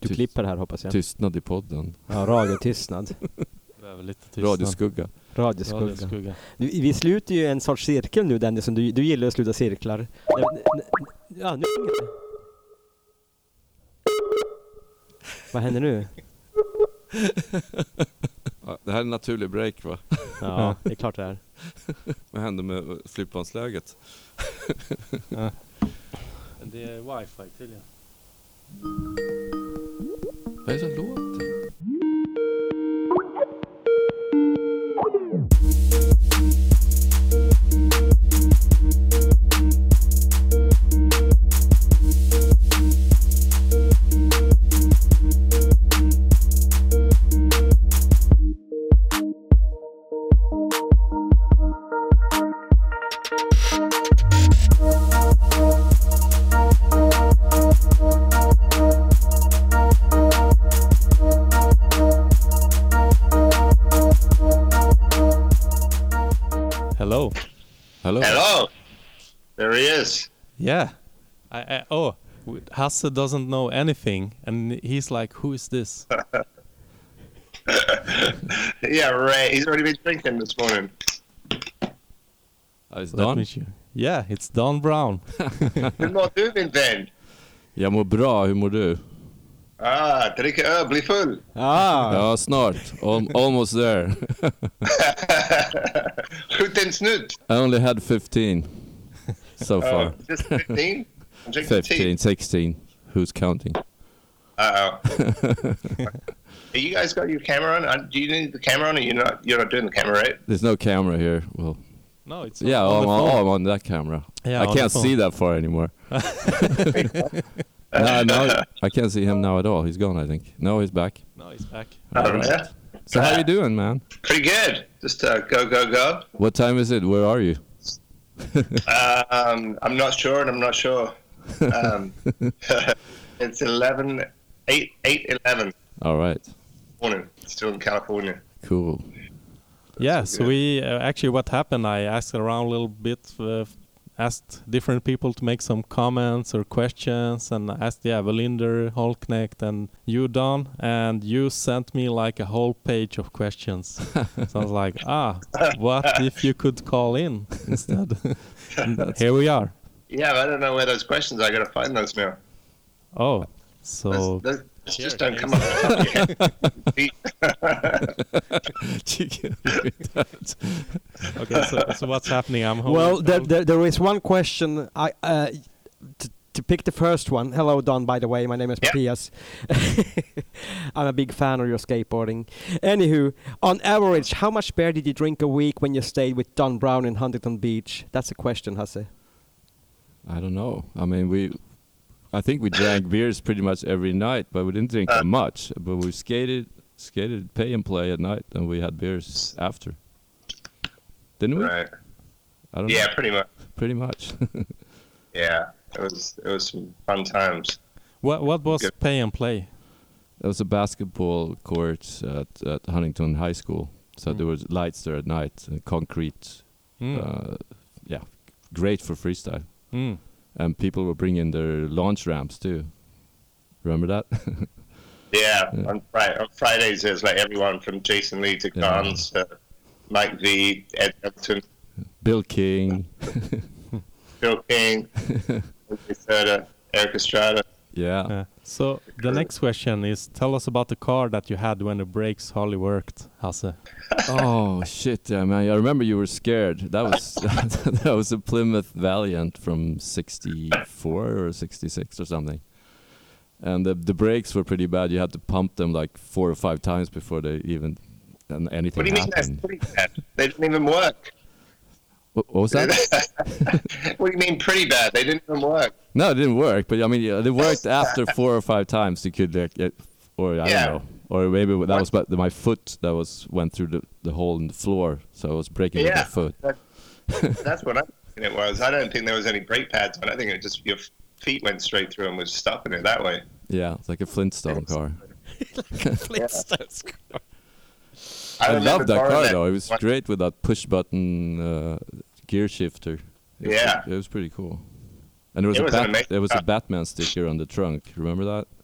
Du klipper här hoppas jag. Tystnad i podden. Ja, radiotystnad. Lite tystnad. Radioskugga. Vi sluter ju en sorts cirkel nu, Dennis, som du gillar att sluta cirklar. Ja, nu ringer det. Vad händer nu? Ja, det här är en naturlig break, va? Ja, det är klart det är. Vad händer med flygplansläget? Ja. Det är wifi tydligen. Vad är det som låter? Hello. Hello. There he is. Yeah. Hasse doesn't know anything, and he's like, "Who is this?" Yeah, right. He's already been drinking this morning. It's Let Don. me show. Yeah, it's Don Brown. Hur mår du, min vän? Jag mår bra, hur mår du? Dricka öl, bli full. Ja, snart. Almost there. Skjut en snutt. I only had 15 so far. Just 15? I'm drinking 15, 16. Who's counting? Uh-oh. You guys got your camera on? Do you need the camera on, or you're not doing the camera, right? There's no camera here. Well, No, it's yeah, on the phone. I'm on that camera. Yeah, I on the can't phone. see that far anymore. No, I can't see him now at all. He's gone, I think. No, he's back. No, he's back. All right. So how you doing, man? Pretty good. Just go. What time is it? Where are you? I'm not sure, and I'm not sure. It's 8:11 All right. morning. Still in California. Cool. Yeah, so we actually what happened, I asked around a little bit, asked different people to make some comments or questions, and asked, Valinder, Holknecht, and you, Don, and you sent me like a whole page of questions. So I was like, what if you could call in instead? And here we are. Yeah, I don't know where those questions are. I gotta find those now. Oh, so... Those just don't come up. Okay, so what's happening? I'm holding... Well, there is one question. To pick the first one. Hello, Don, by the way. My name is Matthias. I'm a big fan of your skateboarding. Anywho, on average, how much beer did you drink a week when you stayed with Don Brown in Huntington Beach? That's a question, Hasse. I don't know. I mean, I think we drank beers pretty much every night, but we didn't drink that much. But we skated, pay and play at night, and we had beers after. Didn't we? Right. I don't know. Yeah, pretty much. Pretty much. Yeah, it was some fun times. What was pay and play? There was a basketball court at Huntington High School. So there was lights there at night, concrete. Great for freestyle. And people were bringing their launch ramps too. Remember that? Yeah. On Fridays there's like everyone from Jason Lee to Gans to Mike V, Ed Elton, Bill King, Eric Estrada. Yeah. So the next question is, tell us about the car that you had when the brakes hardly worked, Hasse. Oh shit, yeah, man! I remember you were scared. That was that was a Plymouth Valiant from '64 or '66 or something, and the brakes were pretty bad. You had to pump them like 4 or 5 times before they even anything. What do you mean that's pretty bad? They didn't even work. What was that? What do you mean pretty bad? They didn't even work. No, it didn't work. But I mean, they worked after 4 or 5 times. You could or I don't know. Or maybe that was but my foot that went through the hole in the floor, so I was breaking with my foot. That's what I think it was. I don't think there was any brake pads on. I think it just your feet went straight through and was stopping it that way. Yeah, it's like a Flintstone car. Like a Flintstone car. I love that car though. It was great with that push button gear shifter. It was pretty cool. And there was a Batman sticker on the trunk. Remember that?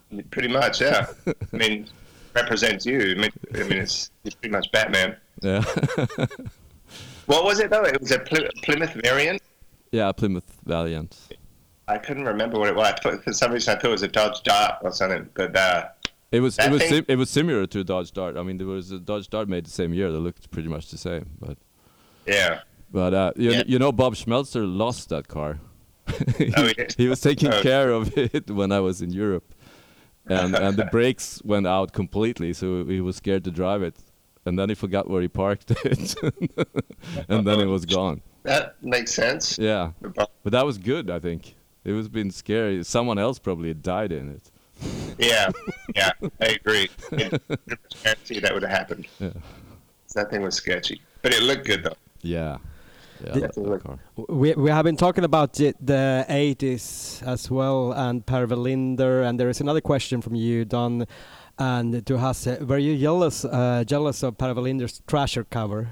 Pretty much, yeah. I mean, represents you. I mean, it's pretty much Batman. Yeah. What was it though? It was a Plymouth variant. Yeah, Plymouth Valiant. I couldn't remember what it was. For some reason, I thought it was a Dodge Dart or something. But it was similar to a Dodge Dart. I mean, there was a Dodge Dart made the same year that looked pretty much the same. But yeah. But you know, Bob Schmelzer lost that car. Oh, he was taking care of it when I was in Europe, and the brakes went out completely, so he was scared to drive it, and then he forgot where he parked it, and then it was gone. That makes sense. Yeah, but that was good. I think it was been scary. Someone else probably died in it. Yeah, I agree. Guarantee that would have happened. Yeah. That thing was sketchy, but it looked good though. Yeah. That's a car. We have been talking about the 80s as well, and Per Welinder, and there is another question from you, Don, and to Hasse. Were you jealous of Per Welinder's Thrasher cover?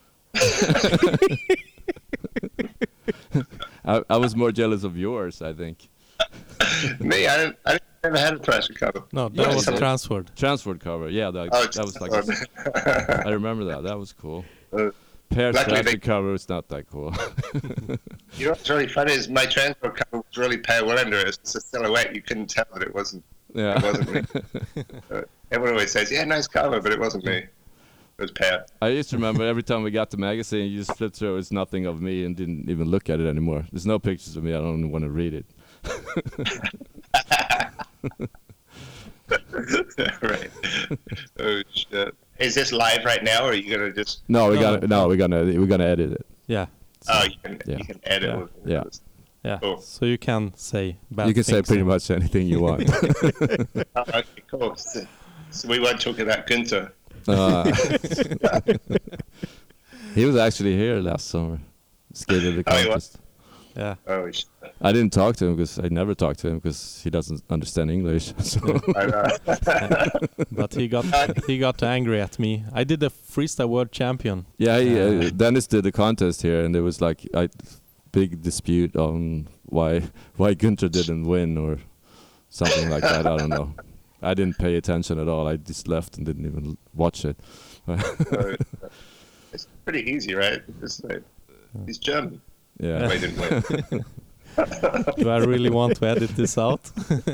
I was more jealous of yours, I think. Me, I never had a Thrasher cover. No, that was Transworld cover. Yeah, that was like. I remember that. That was cool. Per's Thrasher cover is not that cool. You know what's really funny is my Transworld cover was really Per Welinder. It's a silhouette. You couldn't tell that it wasn't. Yeah. It wasn't me. Everyone always says, "Yeah, nice cover," but it wasn't me. It was Per. I used to remember every time we got the magazine, you just flipped through. It's nothing of me, and didn't even look at it anymore. There's no pictures of me. I don't want to read it. Right. Oh shit. Is this live right now, or are you gonna just? No, we're gonna edit it. Yeah. Oh, you can edit. Yeah. With Yeah. Yeah. Cool. So you can say bad You can say things. pretty much anything you want. Okay, cool. So we won't talk about Günther. He was actually here last summer. Skated the Oh, he was? contest. Yeah. Oh shit. I didn't talk to him because I never talked to him because he doesn't understand English. So I know. But he got angry at me. I did the freestyle world champion. yeah, Dennis did the contest here, and there was like a big dispute on why Günther didn't win or something like that. I don't know. I didn't pay attention at all. I just left and didn't even watch it. It's pretty easy, right? He's German. Yeah. He didn't win. Do I really want to edit this out?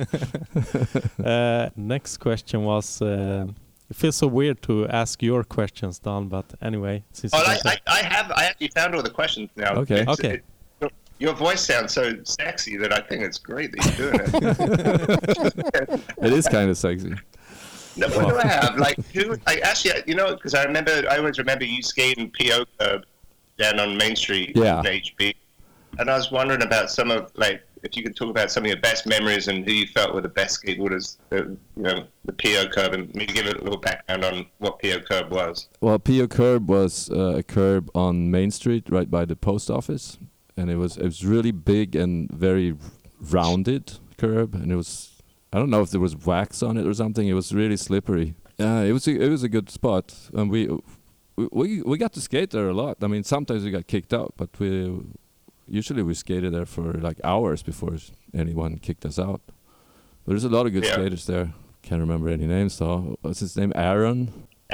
Next question was, it feels so weird to ask your questions, Don, but anyway. Since I actually found all the questions now. Okay. Okay. Your voice sounds so sexy that I think it's great that you're doing it. It is kind of sexy. No, what do I have? Actually, you know, because I always remember you skating PO Curb down on Main Street in HB. And I was wondering about if you could talk about some of your best memories and who you felt were the best skateboarders, the PO Curb, and maybe give it a little background on what PO Curb was. Well, PO Curb was a curb on Main Street, right by the post office, and it was really big and very rounded curb, and I don't know if there was wax on it or something. It was really slippery. It was a good spot, and we got to skate there a lot. I mean, sometimes we got kicked out, but usually we skated there for like hours before anyone kicked us out. But there's a lot of good skaters there. Can't remember any names though. What's his name? Aaron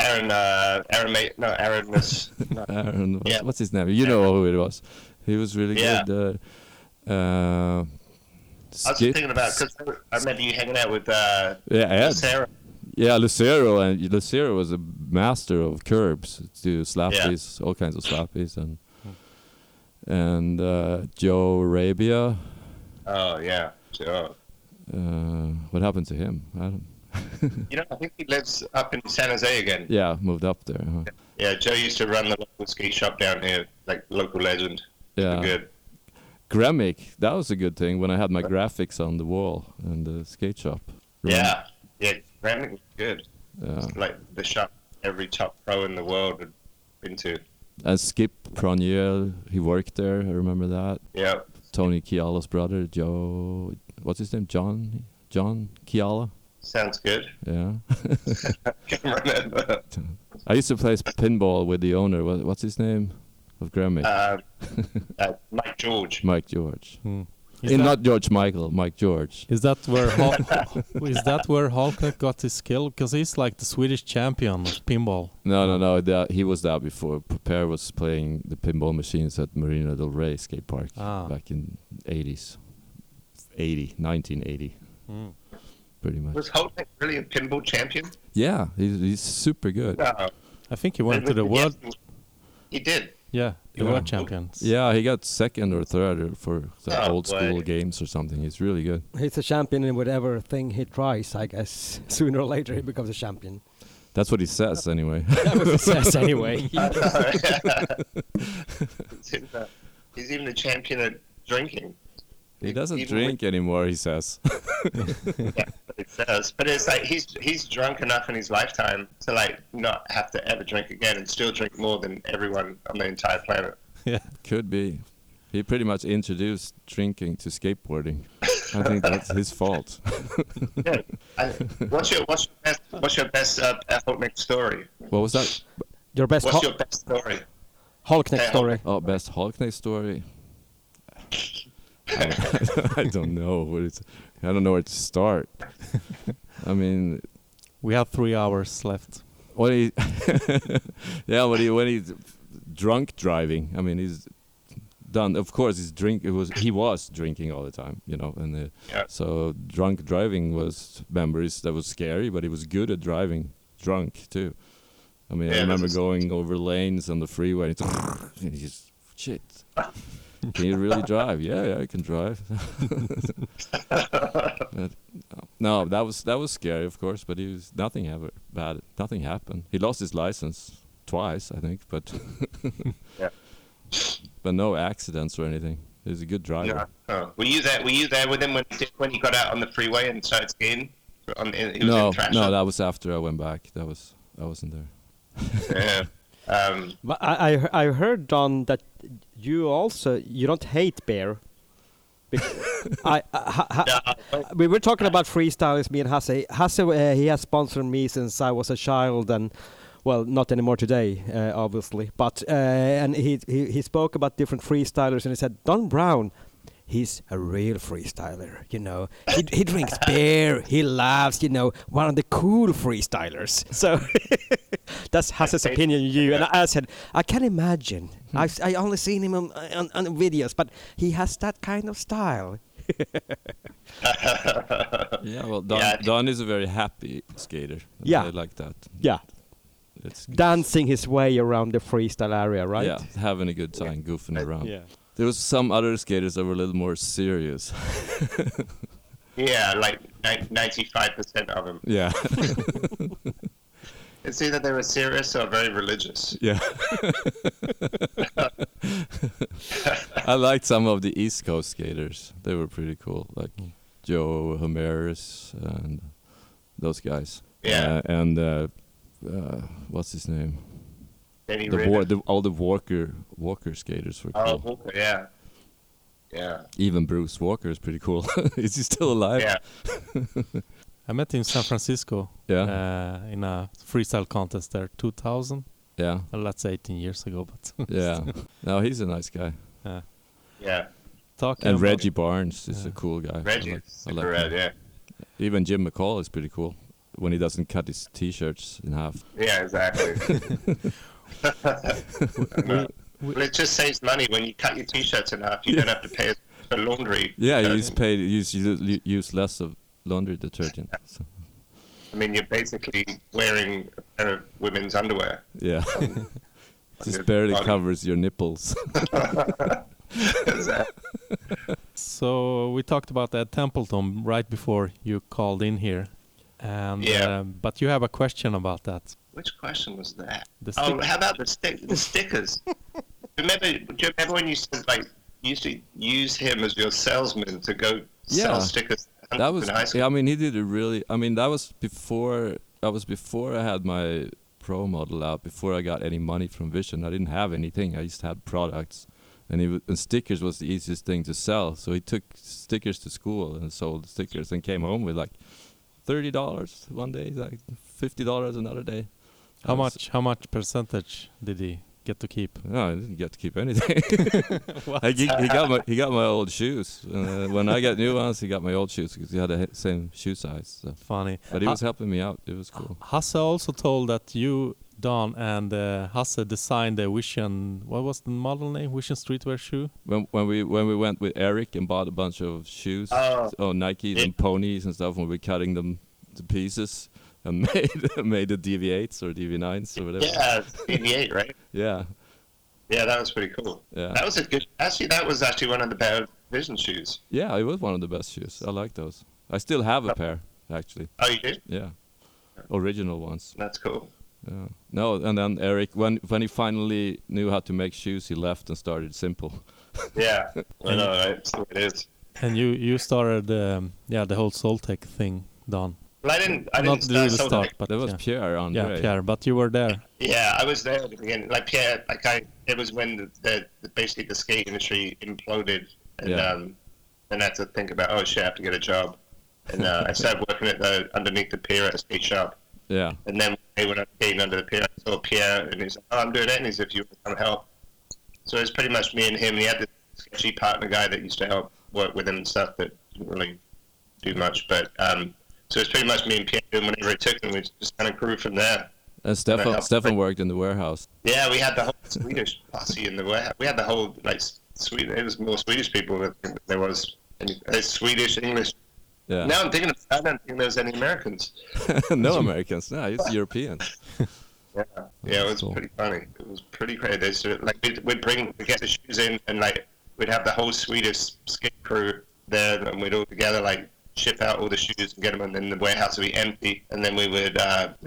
was. No. Aaron. What's his name? You know who it was. He was really good. I was thinking about because I remember you hanging out with Sarah. Yeah, Lucero, and Lucero was a master of curbs, do slappies, all kinds of slappies, and Joe Arabia. Oh yeah, Joe. What happened to him? I don't. I think he lives up in San Jose again. Yeah, moved up there. Huh? Yeah, Joe used to run the local skate shop down here, like local legend. Yeah. Good. Gremic, that was a good thing when I had my graphics on the wall in the skate shop. Yeah, Gremic was good. Yeah. It's like the shop every top pro in the world had been to. And Skip Pronier, he worked there, I remember that. Yeah. Tony Kiala's brother, Joe, what's his name? John Kiala? Sounds good. Yeah. Can't remember. I used to play pinball with the owner. What's his name of Gremic? Mike George. Mike George. Not George Michael, Mike George. Is that where Holknecht got his skill? Because he's like the Swedish champion of pinball. No. He was there before. Per was playing the pinball machines at Marina del Rey skate park back in 1980. Pretty much. Was Holknecht really a pinball champion? Yeah, he's super good. I think he went to the world. He did. Yeah, the world champions. Yeah, he got second or third for the old school games or something. He's really good. He's a champion in whatever thing he tries, I guess. Sooner or later he becomes a champion. That's what he says anyway. That's what he says anyway. He's even a champion at drinking. He doesn't drink anymore, he says. Yeah, it says. But it's like he's drunk enough in his lifetime to like not have to ever drink again and still drink more than everyone on the entire planet. Yeah, could be. He pretty much introduced drinking to skateboarding. I think that's his fault. Yeah. What's your best Holknecht story? What was that? Your best What's your best story? Holknecht story. Oh, best Holknecht story. I don't know. I don't know where to start. I mean, we have 3 hours left. When he's drunk driving, I mean, he's done. Of course, he was drinking all the time, you know, and so drunk driving was memories that was scary, but he was good at driving drunk too. I mean, I remember going over lanes on the freeway, and he's shit. Can you really drive? Yeah, I can drive. No, that was scary, of course, but nothing happened. He lost his license twice, I think, but but no accidents or anything. He's a good driver. Yeah. Oh. Were you there with him when he got out on the freeway and started skiing? No, that was after I went back. I wasn't there. Yeah. But I heard, Don, that you don't hate beer. We were talking about freestylers, me and Hasse. Hasse, he has sponsored me since I was a child, and well, not anymore today, obviously. But and he spoke about different freestylers, and he said Don Brown, he's a real freestyler, you know. He drinks beer, he laughs, you know, one of the cool freestylers. So that's Hasse's opinion on you. And I said, I can imagine. I only seen him on videos, but he has that kind of style. Yeah, well, Don is a very happy skater. Yeah. I like that. Yeah. It's dancing his way around the freestyle area, right? Yeah, having a good time, goofing around. Yeah. There was some other skaters that were a little more serious. Yeah, like 95% of them. Yeah. It's either they were serious or very religious. Yeah. I liked some of the East Coast skaters. They were pretty cool, like Joe Homeris and those guys. Yeah. And what's his name? All the Walker skaters were cool. Oh, Walker, yeah. Yeah. Even Bruce Walker is pretty cool. Is he still alive? Yeah. I met him in San Francisco. Yeah. In a freestyle contest there, 2000. Yeah. Well, that's 18 years ago, but yeah. No, he's a nice guy. Yeah. And Reggie Barnes is a cool guy. Reggie, super rad, yeah. Even Jim McCall is pretty cool when he doesn't cut his t-shirts in half. Yeah, exactly. Well, it just saves money when you cut your t-shirts in half. You don't have to pay for laundry. Yeah, you use less of laundry detergent. So. I mean, you're basically wearing a pair of women's underwear. Yeah. Just barely covers your nipples. So we talked about Ed Templeton right before you called in here. And but you have a question about that. Which question was that? How about the stickers? Do you remember when you said like you used to use him as your salesman to go sell stickers? That was in high school? Yeah, I mean he did it really. I mean that was before I had my pro model out. Before I got any money from Vision, I didn't have anything. I just had products, and stickers was the easiest thing to sell. So he took stickers to school and sold stickers, and came home with like $30 one day, like $50 another day. How much percentage did he get to keep? No, I didn't get to keep anything. He got my old shoes. When I got new ones, he got my old shoes because he had the same shoe size. So. Funny. But he was helping me out. It was cool. Hasse also told that you, Don, and Hasse designed the Vision. What was the model name? Vision streetwear shoe. When we went with Eric and bought a bunch of shoes, Nikes and ponies and stuff, when we were cutting them to pieces and made the DV8s or DV9s or whatever. Yeah, DV8, right? Yeah. Yeah, that was pretty cool. Yeah. That was that was actually one of the better Vision shoes. Yeah, it was one of the best shoes. I like those. I still have a pair, actually. Oh, you did? Yeah. Original ones. That's cool. Yeah. No, and then Eric, when he finally knew how to make shoes, he left and started Simple. Yeah, I know, right? That's the way it is. And you started the whole Soltech thing, Don. Well, I didn't Not really start, but that was Pierre Andre. Yeah, Pierre, but you were there. Yeah, I was there at the beginning. Like Pierre, it was when basically the skate industry imploded, and then I had to think about, oh shit, I have to get a job, and I started working underneath the pier at a skate shop. Yeah. And then when I was skating under the pier, I saw Pierre, and he's like, oh, I'm doing it, and he's if you want to come help. So it was pretty much me and him. And he had this sketchy partner guy that used to help work with him and stuff that didn't really do much, but so it's pretty much me and Pierre doing whenever it took, and we just kind of grew from there. And Stefan worked in the warehouse. Yeah, we had the whole Swedish posse in the warehouse. We had the whole Sweden. It was more Swedish people than there was Swedish, English. Yeah. Now I'm thinking of, I don't think there was any Americans. No Americans. No, it's Europeans. Yeah, it was cool. Pretty funny. It was pretty crazy. We'd get the shoes in, and we'd have the whole Swedish skate crew there, and we'd all together ship out all the shoes and get them, and then the warehouse would be empty, and then we would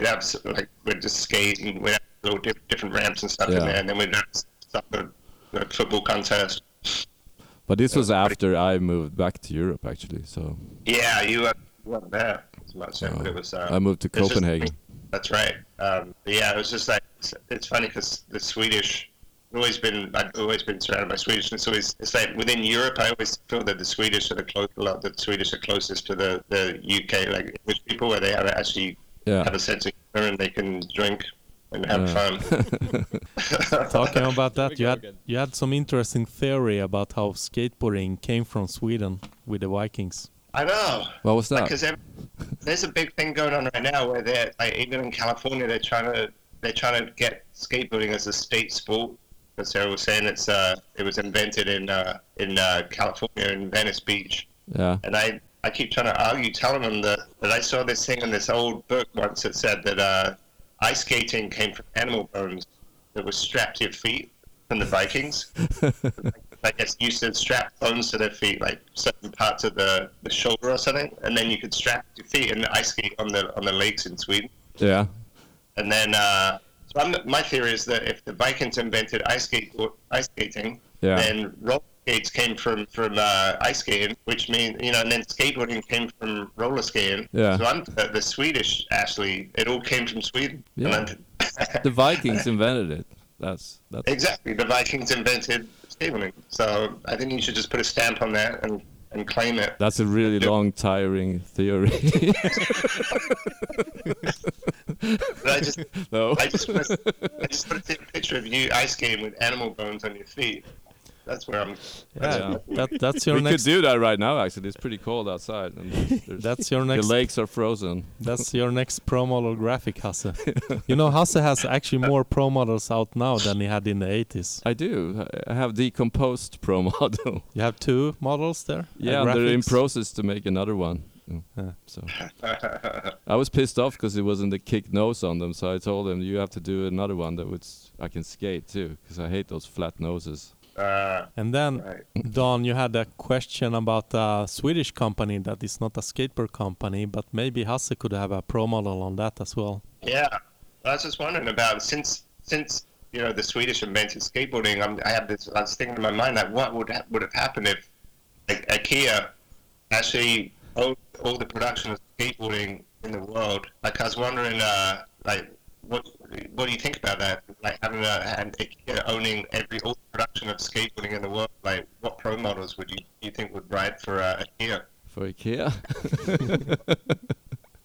we'd just skate, and we'd have little different ramps and stuff in there, and then we'd have stuff for a football contest. But this was after I moved back to Europe, actually. So yeah, you weren't there as much, but it was. I moved to Copenhagen. That's right. Yeah, it was just it's funny because the Swedish. I've always been surrounded by Swedish, and it's like within Europe, I always feel that the Swedish are closest to the UK, like English people, where they have a sense of humor and they can drink and have fun. Talking about that, you had some interesting theory about how skateboarding came from Sweden with the Vikings. I know. What was that? Because there's a big thing going on right now where they're even in California, they're trying to get skateboarding as a state sport. As Sarah was saying, it was invented in California, in Venice Beach. Yeah. And I keep trying to argue, telling them that I saw this thing in this old book once that said that ice skating came from animal bones that was strapped to your feet from the Vikings. I guess you used to strap bones to their feet, like certain parts of the shoulder or something, and then you could strap your feet and ice skate on the lakes in Sweden. Yeah. And then. My theory is that if the Vikings invented ice skating, then roller skates came from ice skating, which means and then skateboarding came from roller skating. Yeah. So the Swedish actually, it all came from Sweden. Yeah. The Vikings invented it. That's exactly, the Vikings invented skateboarding. So I think you should just put a stamp on that and claim it. That's a really long, tiring theory. But I just put a picture of you ice skating with animal bones on your feet. That's where I'm. That's your we next. We could do that right now. Actually, it's pretty cold outside. And that's your next. The lakes are frozen. That's your next pro model graphic, Hasse. Hasse has actually more pro models out now than he had in the 80s. I do. I have decomposed pro model. You have 2 models there. Yeah, they're in process to make another one. So I was pissed off because it wasn't the kick nose on them. So I told him, you have to do another one that I can skate too, because I hate those flat noses. And then, Don, you had a question about a Swedish company that is not a skateboard company, but maybe Hasse could have a pro model on that as well. Yeah, I was just wondering about since the Swedish invented skateboarding. I was thinking in my mind that what would have happened if IKEA actually owned all the production of skateboarding in the world. I was wondering, what do you think about that? Having IKEA owning all the production of skateboarding in the world. What pro models would you think would ride for IKEA? For IKEA?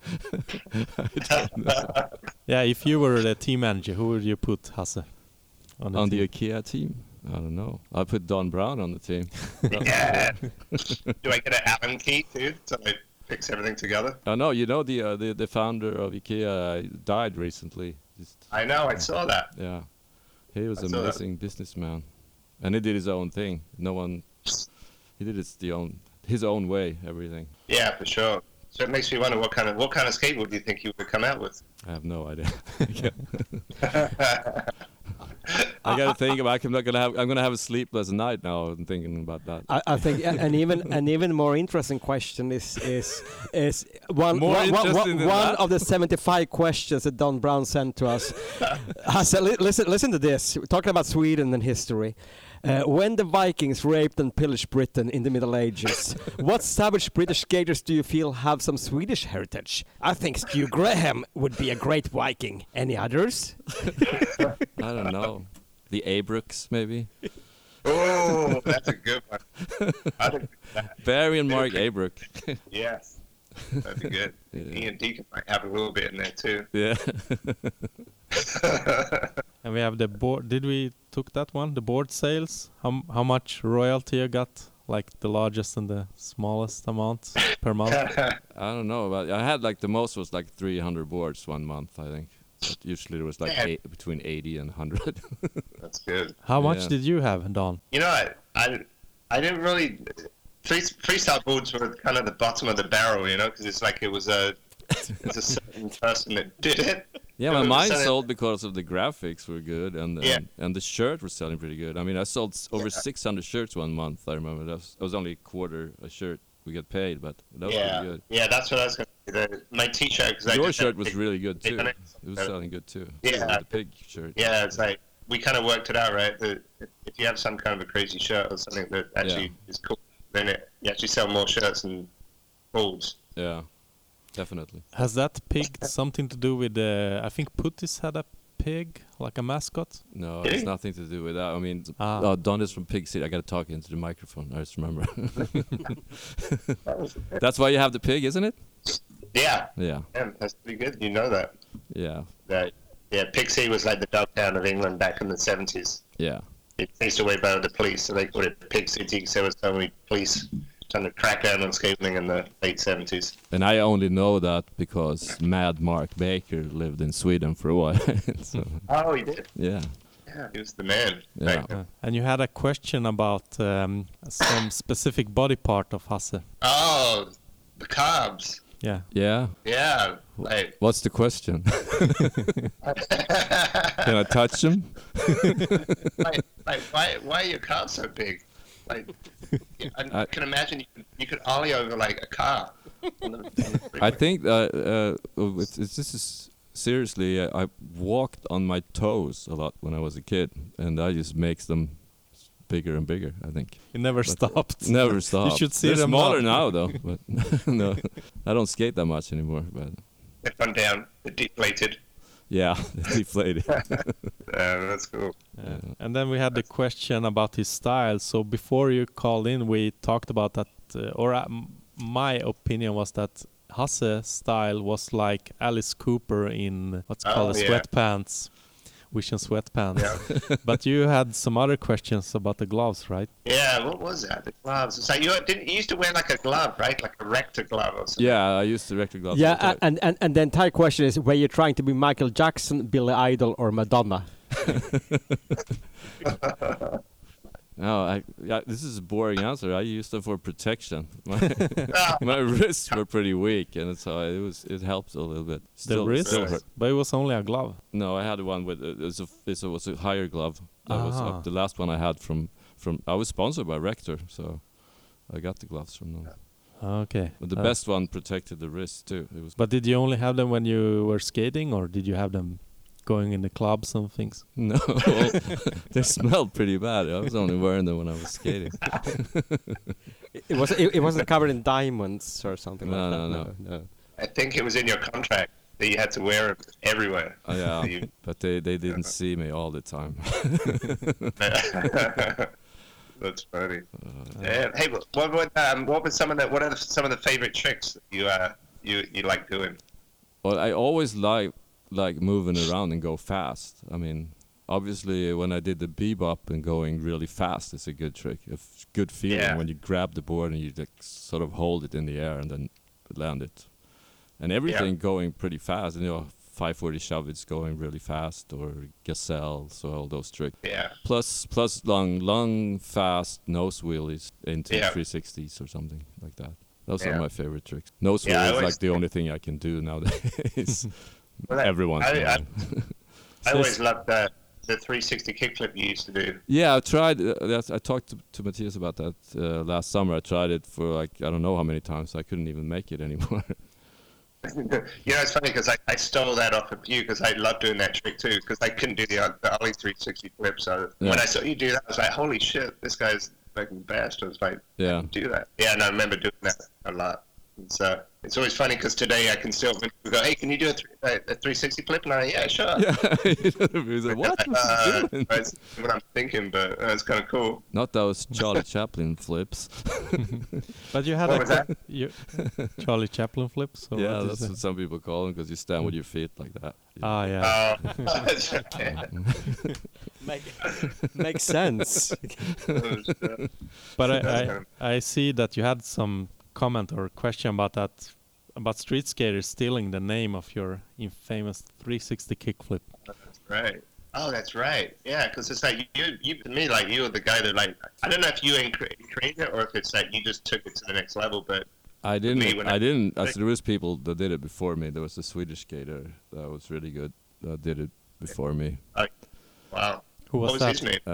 I don't know. Yeah, if you were the team manager, who would you put, Hasse? on the IKEA team? I don't know. I put Don Brown on the team. Yeah. Do I get an Allen key too, so I fix everything together? No, you know the founder of IKEA died recently. I know. I saw that. Yeah, he was an amazing businessman, and he did his own thing. He did his own way, everything. Yeah, for sure. So it makes me wonder what kind of skateboard do you think you would come out with? I have no idea. I gotta think about. I'm gonna have a sleepless night now and thinking about that. I think an even more interesting question is one of the 75 questions that Don Brown sent to us. Listen to this. We're talking about Sweden and history. When the Vikings raped and pillaged Britain in the Middle Ages, what savage British skaters do you feel have some Swedish heritage? I think Stu Graham would be a great Viking. Any others? I don't know. The Abrooks, maybe? Oh, that's a good one. I think that. Barry and Mark Abrook. Yes, that'd be good. Yeah. Ian Deacon might have a little bit in there too. Yeah. And we have the board. Did we took that one? The board sales. How much royalty you got? Like the largest and the smallest amount per month? I don't know. But I had like the most was like 300 boards one month, I think. But usually it was like between 80 and 100. That's good. How much did you have, Don? You know, I didn't really. Freestyle boards were kind of the bottom of the barrel, you know, because it's like it was a certain person that did it. Yeah, but mine sold because of the graphics were good and the shirt was selling pretty good. I mean, I sold over 600 shirts one month. I remember that was only a quarter a shirt we get paid, but that was pretty good. Yeah, that's what I was going to say. My T-shirt. Your shirt was really good too. It was selling good too. Yeah, the pig shirt. Yeah, it's like we kind of worked it out, right? That if you have some kind of a crazy shirt or something that actually is cool, then you actually sell more shirts and balls. Yeah, definitely. Has that pig something to do with I think Puttis had a pig, like a mascot? No, it's nothing to do with that. I mean, Don is from Pig City. I got to talk into the microphone. I just remember. That's why you have the pig, isn't it? Yeah. Yeah. Yeah, that's pretty good. You know that. Yeah. Pig City was like the Dogtown of England back in the 70s. Yeah. It chased away by the police, so they called it Pig City because there was so many police trying to crack down on skateboarding in the late 70s. And I only know that because Mad Mark Baker lived in Sweden for a while. So, oh, he did? Yeah. Yeah, he was the man. Yeah. Right. And you had a question about some specific body part of Hasse. Oh, the carbs. Yeah. Yeah. Yeah. Like, what's the question? Can I touch them? why are your carbs so big? Like, I can imagine you could ollie over like a car. I think this is seriously. I walked on my toes a lot when I was a kid, and that just makes them bigger and bigger. I think it never stopped. Never stopped. You should see They're them smaller now, though. But no, I don't skate that much anymore. But they've gone down. They're deflated. Yeah, deflated. That's cool. And then we had the question about his style. So before you called in, we talked about that, my opinion was that Hasse's style was like Alice Cooper in what's called sweatpants, Vision sweatpants. Yeah. But you had some other questions about the gloves, right? Yeah, what was that? The gloves. It's like you used to wear like a glove, right? Like a rector glove or something. Yeah, I used the rector glove. Yeah, and the entire question is, were you trying to be Michael Jackson, Billy Idol, or Madonna? No, this is a boring answer. I used them for protection. My wrists were pretty weak, and so it helped a little bit. The wrist, but it was only a glove. No, I had one with it was a higher glove. That was the last one I had from. I was sponsored by Rector, so I got the gloves from them. Okay. But the best one protected the wrist too. But did you only have them when you were skating, or did you have them going in the clubs and things? No, they smelled pretty bad. I was only wearing them when I was skating. It wasn't covered in diamonds or something like that. No. I think it was in your contract that you had to wear it everywhere. Yeah, but they didn't see me all the time. That's funny. Hey, what are some of the favorite tricks that you like doing? Well, I always like moving around and go fast. I mean, obviously when I did the bebop and going really fast, it's a good trick. A good feeling when you grab the board and you like sort of hold it in the air and then land it. And everything going pretty fast. You know, 540 shove it's going really fast, or gazelle, so all those tricks. Yeah. Plus long, fast nose wheelies into 360s or something like that. Those are my favorite tricks. Nose wheel is like the only thing I can do nowadays. Everyone's I always loved the 360 kickflip you used to do. Yeah, I tried. I talked to Matthias about that last summer. I tried it for like I don't know how many times. I couldn't even make it anymore. It's funny because I stole that off of you because I love doing that trick too because I couldn't do the Ollie 360 flip. So when I saw you do that, I was like, holy shit, this guy's fucking best. I was like, I can do that. Yeah, and I remember doing that a lot. So it's always funny because today I can still go, hey, can you do a 360 flip? And yeah, sure. Yeah, like, what? That's what I'm thinking, but it's kind of cool. Not those Charlie Chaplin flips. But you had Charlie Chaplin flips? Or yeah, that's what some people call them because you stand with your feet like that. Yeah. Makes sense. But I see that you had some comment or question about that, about street skaters stealing the name of your infamous 360 kickflip. That's right. Oh, that's right. Yeah, because it's like you to me, like you were the guy that like I don't know if you created it or if it's that you just took it to the next level, but I didn't. There was people that did it before me. There was a Swedish skater that was really good that did it before me. Wow. What was his name?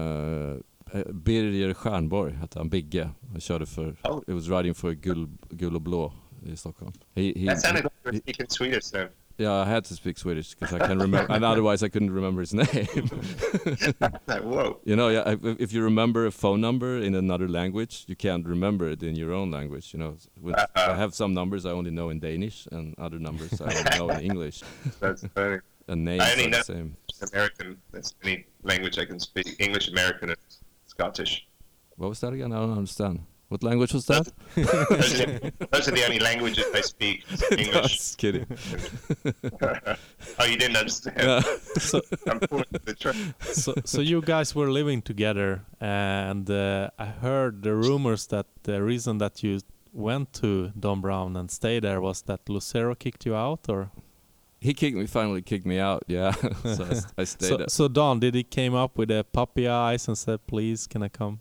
Birger Stjernborg hette han, Bigge. Han körde för, it was riding for Gul och Blå i Stockholm. That sounded like you were speaking Swedish then. Yeah, I had to speak Swedish because I can remember, and otherwise I couldn't remember his name. Like, whoa. You know, if you remember a phone number in another language, you can't remember it in your own language. You know, I have some numbers I only know in Danish, and other numbers I only know in English. That's funny. And names are the same. American. That's any language I can speak. English, American, and Scottish. What was that again? I don't understand. What language was that? Those are the only languages I speak. English. No, just kidding. Oh, you didn't understand? Yeah. I'm pulling the trick. So you guys were living together, and I heard the rumors that the reason that you went to Don Brown and stayed there was that Lucero kicked you out, or? He finally kicked me out, yeah. So I stayed. So Don, did he came up with a puppy eyes and said, please, can I come?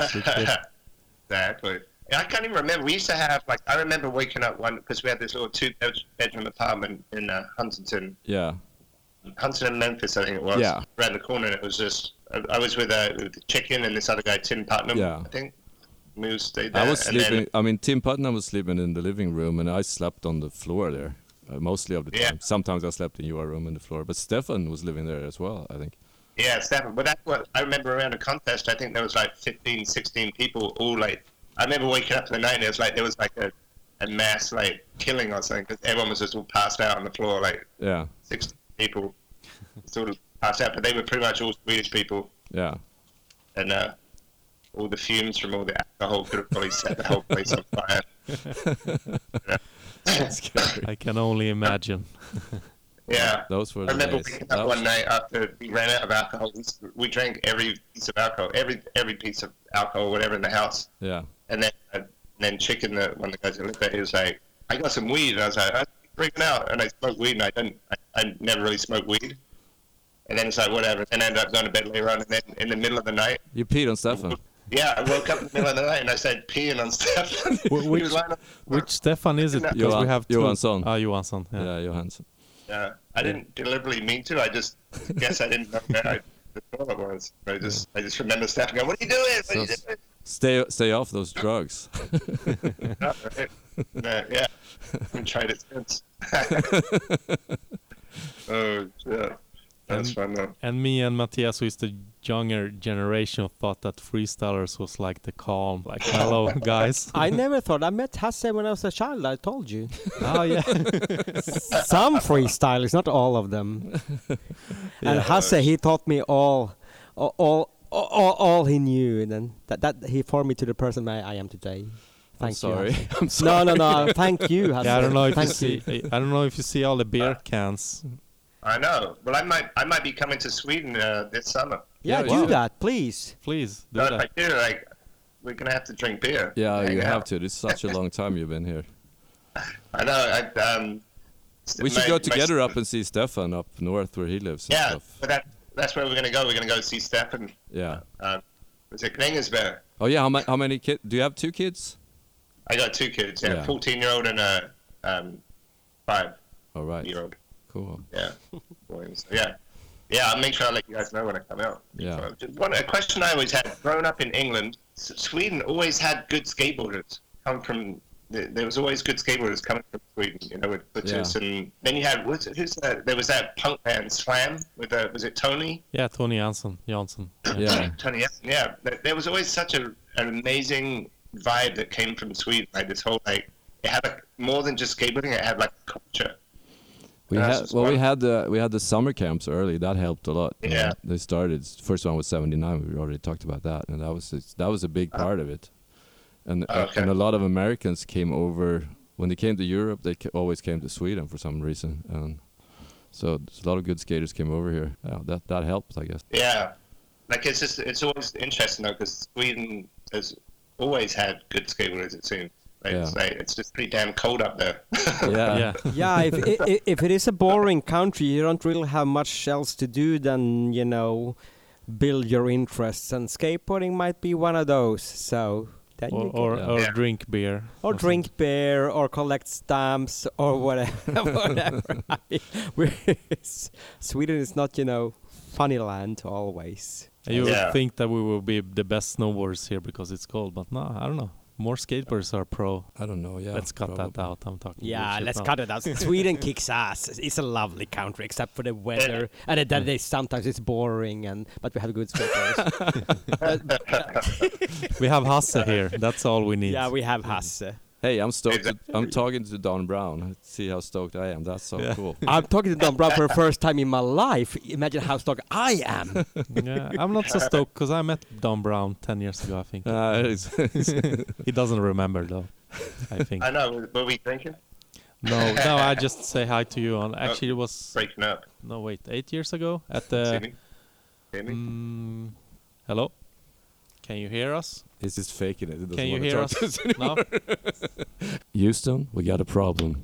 Exactly. I can't even remember. We used to have, like, I remember waking up one, because we had this little 2-bedroom apartment in Huntington. Yeah. Huntington, Memphis, I think it was. Yeah. Around the corner. And it was just, I was with the chicken and this other guy, Tim Putnam, I think. We stayed there. I was sleeping, Tim Putnam was sleeping in the living room, and I slept on the floor there. Mostly of the time. Sometimes I slept in your room in the floor, but Stefan was living there as well, I think. Yeah, Stefan. But that's what I remember around a contest. I think there was like 15, 16 people all like. I remember waking up in the night and there was like a mass like killing or something because everyone was just all passed out on the floor. Like 16 people sort of passed out, but they were pretty much all Swedish people. Yeah. And all the fumes from all the alcohol could have probably set the whole place on fire. I can only imagine. Yeah, those were. I remember waking up one night after we ran out of alcohol. We drank every piece of alcohol, every piece of alcohol, whatever in the house. Yeah. And then Chicken, one of the guys that lived there, he was like, "I got some weed," and I was like, "I'm freaking out." And I smoked weed, and I never really smoked weed. And then it's like whatever. And I ended up going to bed later on, and then in the middle of the night, you peed on Stefan. Yeah, I woke up in the middle of the night and I started peeing on Stefan. Which Stefan is it? Because we have Johansson. Johansson. Yeah, Johansson. Yeah, I didn't deliberately mean to. I just guess I didn't know where the toilet was. I just remember Stefan going, "What are you doing? What are you doing?" Stay off those drugs. Yeah, I haven't tried it since. Oh, yeah. That's fun though. And me and Matthias, who is the younger generation, thought that freestylers was like the calm, like hello guys. I never thought. I met Hasse when I was a child. I told you. Oh yeah. Some freestylers, not all of them. And Hasse, he taught me all he knew, and then that he formed me to the person I am today. I'm sorry. No. Thank you, Hasse. Yeah, I don't know if you see all the beer cans. I know. Well, I might be coming to Sweden this summer. Yeah, do that, please. Please do If that. I do, like, we're gonna have to drink beer. Yeah, Hang you have out. to. It's such a long time you've been here. I know. We should go together up and see Stefan up north where he lives and Yeah, stuff. but that's where we're gonna go. We're gonna go see Stefan. Yeah. Was it Grängesberg? Oh yeah, how many kids? Do you have 2 kids? I got 2 kids. Yeah, Yeah. 14-year-old and a 5-year-old. All right. Cool. Yeah. So, yeah. I'll make sure I let you guys know when I come out. Yeah. A question I always had. Growing up in England, Sweden always had good skateboarders come from. There was always good skateboarders coming from Sweden, you know, with Butchers, and then you had who's that? There was that punk band Slam with was it Tony? Yeah, Tony Jansson. Yeah. Tony. Yeah. There was always such an amazing vibe that came from Sweden. Like this whole it had more than just skateboarding. It had like culture. We had the summer camps early. That helped a lot. Yeah. They started. First one was '79. We already talked about that, and that was a big part of it. And Okay. and a lot of Americans came over when they came to Europe. They always came to Sweden for some reason, and so a lot of good skaters came over here. That helped, I guess. Yeah, like it's always interesting though because Sweden has always had good skateboarders. It seems. It's just pretty damn cold up there. Yeah. Yeah, if it is a boring country, you don't really have much else to do than, you know, build your interests, and skateboarding might be one of those. So then Or drink beer. or drink beer, or collect stamps, or whatever. Sweden is not, you know, funny land always. You would think that we will be the best snowboarders here because it's cold, but no, I don't know. More skateboarders are pro. I don't know. Yeah. Let's cut that out. I'm talking. Yeah, bullshit let's now. cut it out. Sweden kicks ass. It's a lovely country, except for the weather, and that they sometimes it's boring, but we have good skaters. We have Hasse here. That's all we need. Yeah, we have Hasse. Hey, I'm stoked. I'm talking to Don Brown. See how stoked I am. That's so cool. I'm talking to Don Brown for the first time in my life. Imagine how stoked I am. Yeah, I'm not so stoked because I met Don Brown 10 years ago, I think. He doesn't remember though, I think. I know. Were we drinking? No, I just say hi to you. Actually, it was Breaking up. no wait, 8 years ago at See the. me? Hear me? Hello, can you hear us? He's just faking it. He doesn't Can you wanna hear talk us to anymore. now? Houston, we got a problem.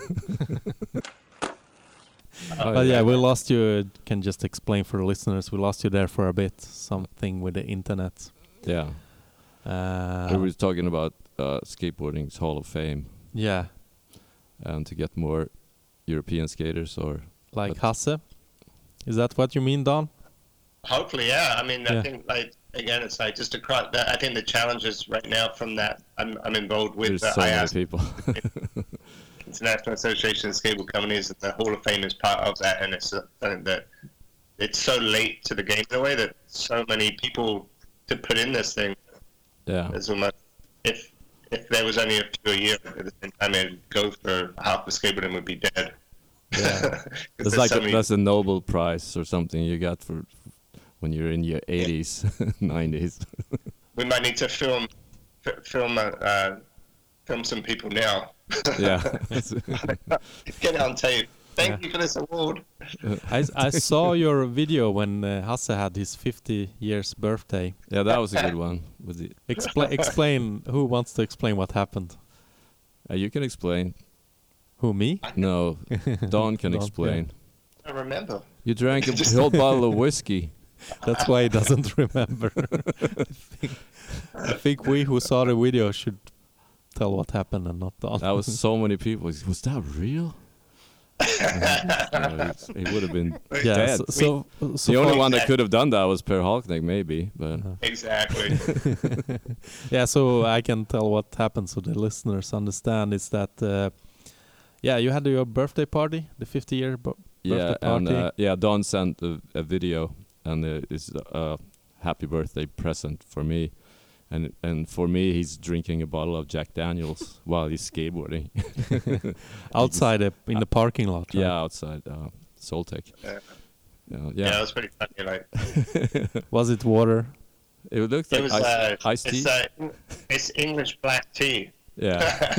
But yeah, we lost you. Can just explain for the listeners. We lost you there for a bit. Something with the internet. Yeah. We were talking about skateboarding's Hall of Fame Yeah, and to get more European skaters or like Hasse. Is that what you mean, Don? Hopefully, yeah. I mean, Yeah. I think again, it's like just across. I think the challenges right now from that. I'm involved with there's so many IASC, people. International Association of Skateboard Companies, and the Hall of Fame is part of that. And it's something that it's so late to the game in a way that so many people to put in this thing. Yeah. There's almost if there was only a few a year at the same time, it'd go for half the skateboarding would be dead. Yeah. It's like that's a Nobel Prize or something you got for when you're in your 80s, 90s. We might need to film some people now. Yeah. Get it on tape. Thank you for this award. I saw your video when Hasse had his 50 years birthday. Yeah, that was a good one. With the Explain. Who wants to explain what happened? you can explain. Who, me? No, Don can Don, explain. I remember. You drank a whole bottle of whiskey. That's why he doesn't remember. I think we who saw the video should tell what happened and not Don. That was so many people. Was that real? He would have been dead. So the only one that could have done that was Per Halknecht, maybe. But Exactly. yeah, so I can tell what happened so the listeners understand. Is that you had your birthday party, the 50-year birthday party. And Don sent a video, and it's a happy birthday present for me. And for me, he's drinking a bottle of Jack Daniels while he's skateboarding. Outside in the parking lot, right? Yeah, outside Soltech. Yeah, it was pretty funny. Like Was it water? It looked like it was iced tea. it's English black tea. Yeah.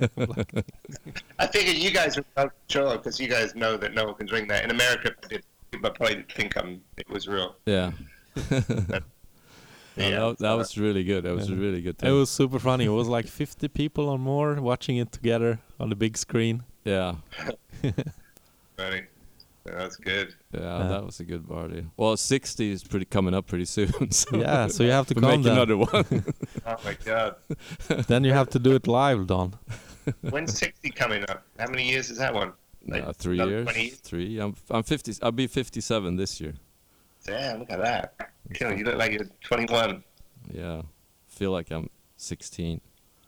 I figured you guys were not sure because you guys know that no one can drink that. In America, people probably think it was real. Yeah. Yeah, that was really good. That was a really good thing. It was super funny. It was like 50 people or more watching it together on the big screen. Yeah. Funny. That's good. Yeah, that was a good party. Well, 60 is coming up pretty soon. So Yeah, so you have to we come make then. another one. Oh my God. Then you have to do it live, Don. When's 60 coming up? How many years is that one? Like 3 another years. 20 years? 3. I'm 50. I'll be 57 this year. Damn, look at that. You look like you're 21. Yeah. Feel like I'm 16.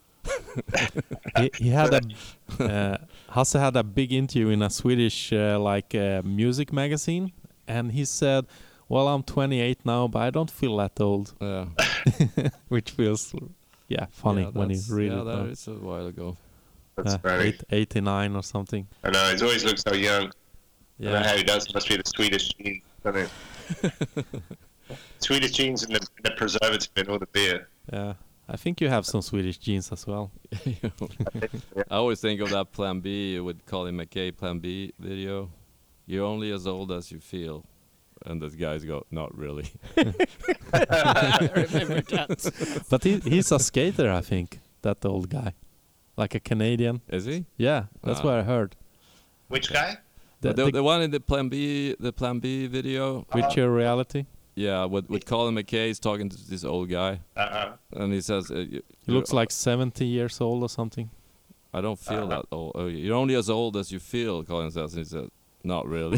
He had Hasse had a big interview in a Swedish music magazine, and he said, "Well, I'm 28 now, but I don't feel that old," Yeah. which feels funny Yeah, when you read yeah, it. that is a while ago. That's funny. 89 or something. I know, he always looks so young. I don't know Yeah, how he does. It must be the Swedish genes, doesn't it? Swedish genes and the preservative in all the beer. yeah. I think you have some Swedish genes as well. I always think of that Plan B with Colin McKay Plan B video. You're only as old as you feel. And the guys go, not really. I remember that. But he's a skater, I think, that old guy. Like a Canadian. Is he? Yeah, that's Ah. what I heard. Which guy? The one in the Plan B video. Virtual reality. Yeah, with Colin McKay, he's talking to this old guy. Uh-huh. And he says, He looks like 70 years old or something. I don't feel that old. Oh, you're only as old as you feel, Colin says. And he said, not really.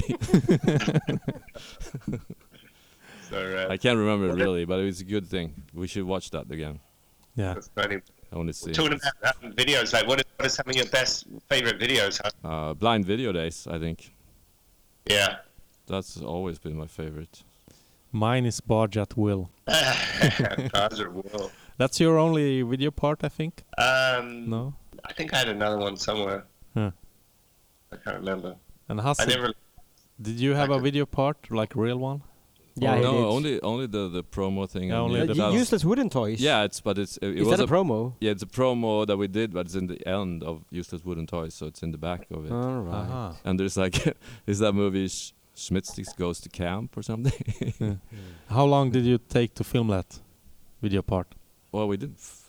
So, I can't remember it really, but it's a good thing. We should watch that again. Yeah. that's funny. I want to see Talking it. about videos, like what are some of your best favorite videos? Huh? Blind Video Days, I think. Yeah. That's always been my favorite. Mine is Barge at Will. Cars are will. That's your only video part, I think? No? I think I had another one somewhere. Huh. I can't remember. And I Hasse, never. did you have a video part, like real one? Yeah, he no, did. only the promo thing. Yeah, on only the- the that was- Useless Wooden Toys. Yeah, it Is was that a promo? Yeah, it's a promo that we did, but it's in the end of Useless Wooden Toys, so it's in the back of it. All right. Uh-huh. And there's like, is that movie Schmidtsticks Goes to Camp or something? How long did you take to film that video part? Well, we did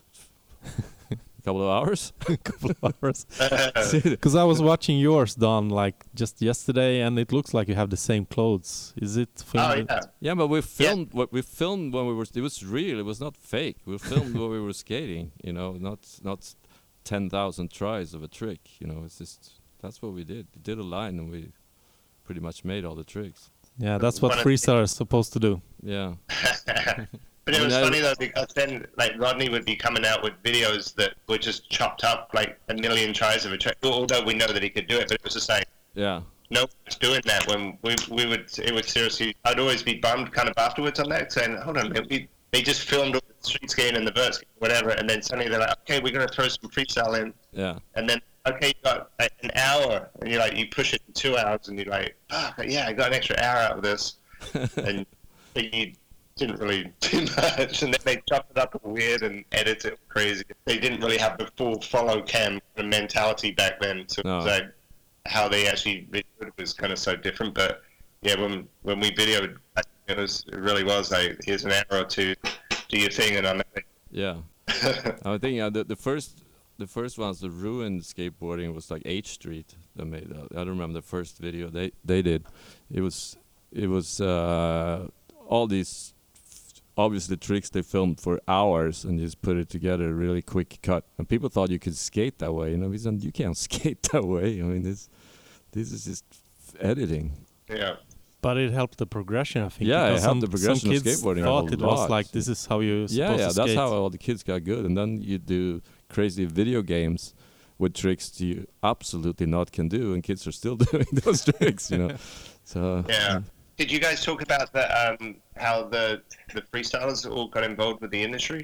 a couple of hours. Couple of hours. Because I was watching yours, Don, like just yesterday, and it looks like you have the same clothes. Is it filmed? Oh yeah. Yeah, but we filmed what we filmed when we were. It was real. It was not fake. We filmed when we were skating. You know, not 10,000 tries of a trick. You know, it's just that's what we did. We did a line and we pretty much made all the tricks. Yeah, that's what One of freestyle is supposed to do. Yeah. But it I was mean, funny though because then like Rodney would be coming out with videos that were just chopped up like a million tries of a trick. Although we know that he could do it, but it was just like Yeah. no one's doing that. When we would, it would seriously. I'd always be bummed kind of afterwards on that, saying, "Hold on, man, they just filmed all the street skating and the vert skating, whatever," and then suddenly they're like, "Okay, we're gonna throw some freestyle in," Yeah. and then okay, you got like, an hour, and you're like, you push it in 2 hours, and you're like, "Fuck, yeah, I got an extra hour out of this," and you didn't really do much, and then they chopped it up weird and edit it crazy. They didn't really have the full follow cam mentality back then, so it was No. like how they actually videoed was kind of so different. But yeah, when we videoed, it really was like, here's an hour or two, do your thing, and I'm Yeah. I think the first ones, the ruined skateboarding was like H Street that made that. I don't remember the first video they did. It was all these obviously tricks they filmed for hours and just put it together, really quick cut. And people thought you could skate that way. You know, we said you can't skate that way. I mean, this is just editing. yeah. But it helped the progression, I think. Yeah, it because helped the progression some of kids skateboarding a thought it was lot. like, this is how you're supposed Yeah, to that's skate. how all the kids got good. And then you do crazy video games with tricks you absolutely not can do, and kids are still doing those tricks, you know. So Yeah. Did you guys talk about the how the freestylers all got involved with the industry?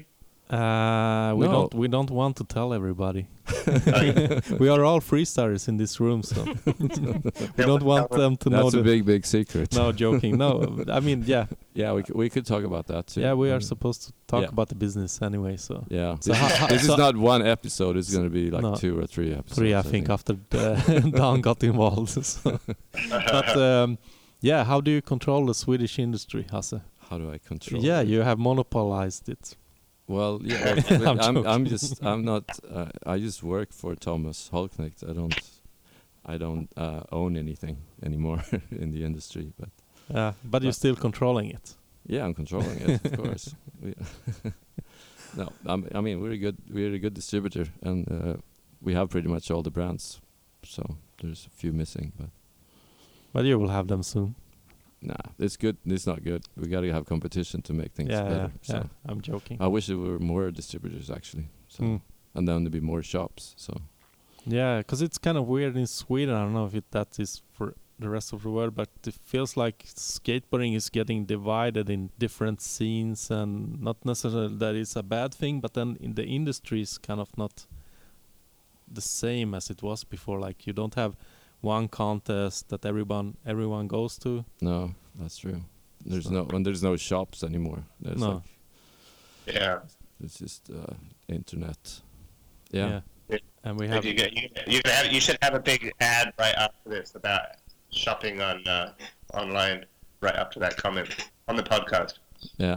No. We don't want to tell everybody. We are all freestylers in this room, so we don't want them to know. That's a big secret. No, joking. No, I mean, yeah. Yeah, we could talk about that too. Yeah, we are supposed to talk about the business anyway, so. Yeah. So this is not one episode. It's going to be like 2 or 3 episodes. 3, I think, after Dan got involved. So. But yeah, how do you control the Swedish industry, Hasse? How do I control? Yeah, it? you have monopolized it. Well, yeah. I'm not. I just work for Thomas Holknecht. I don't own anything anymore in the industry, but. But you're still controlling it. Yeah, I'm controlling it, of course. No, I mean we're a good distributor, and we have pretty much all the brands. So there's a few missing, but you will have them soon. Nah, it's good. It's not good. We got to have competition to make things better. So Yeah, I'm joking. I wish there were more distributors actually. So and then there'd be more shops. So yeah, because it's kind of weird in Sweden. I don't know if that is for the rest of the world, but it feels like skateboarding is getting divided in different scenes, and not necessarily that it's a bad thing, but then in the industry is kind of not the same as it was before. Like you don't have one contest that everyone goes to. No, that's true. There's no shops anymore. There's no. It's just internet. Yeah. And we have. You should have a big ad right after this about shopping on online. Right up to that comment on the podcast. Yeah.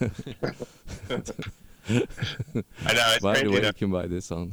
I know. It's by crazy the way, though. you can buy this on.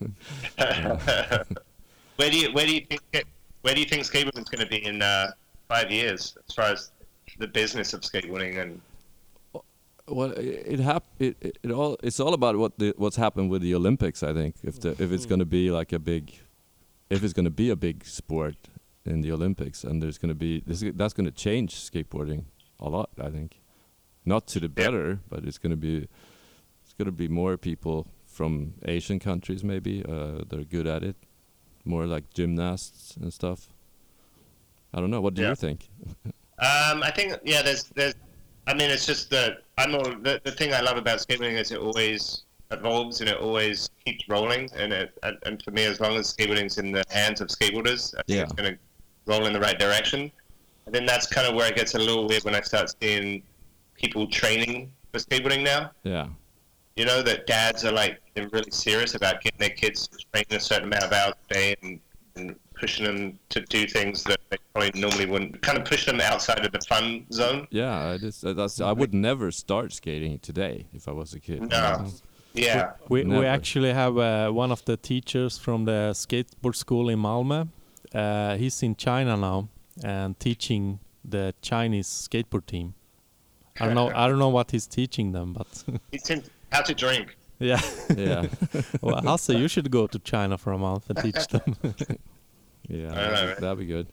Where do you think skateboarding is going to be in 5 years, as far as the business of skateboarding? And well, it's all about what's happened with the Olympics. I think if it's going to be like a big sport in the Olympics, and there's going to be that's going to change skateboarding a lot. I think, not to the better, but it's going to be more people from Asian countries maybe they're good at it, more like gymnasts and stuff. I don't know. What do you think? I think there's. I mean, it's just the thing I love about skateboarding is it always evolves and it always keeps rolling. And for me, as long as skateboarding's in the hands of skateboarders, I think it's going to roll in the right direction. And then that's kind of where it gets a little weird when I start seeing people training for skateboarding now. Yeah. You know, that dads are like really serious about getting their kids to train a certain amount of hours a day and pushing them to do things that they probably normally wouldn't, kind of push them outside of the fun zone. Yeah, I would never start skating today if I was a kid. No. Yeah. We actually have one of the teachers from the skateboard school in Malmö. He's in China now and teaching the Chinese skateboard team. I don't know what he's teaching them, but he's teaching how to drink. Yeah. Yeah. Well, Hasse, you should go to China for a month and teach them. Yeah, that'd be good.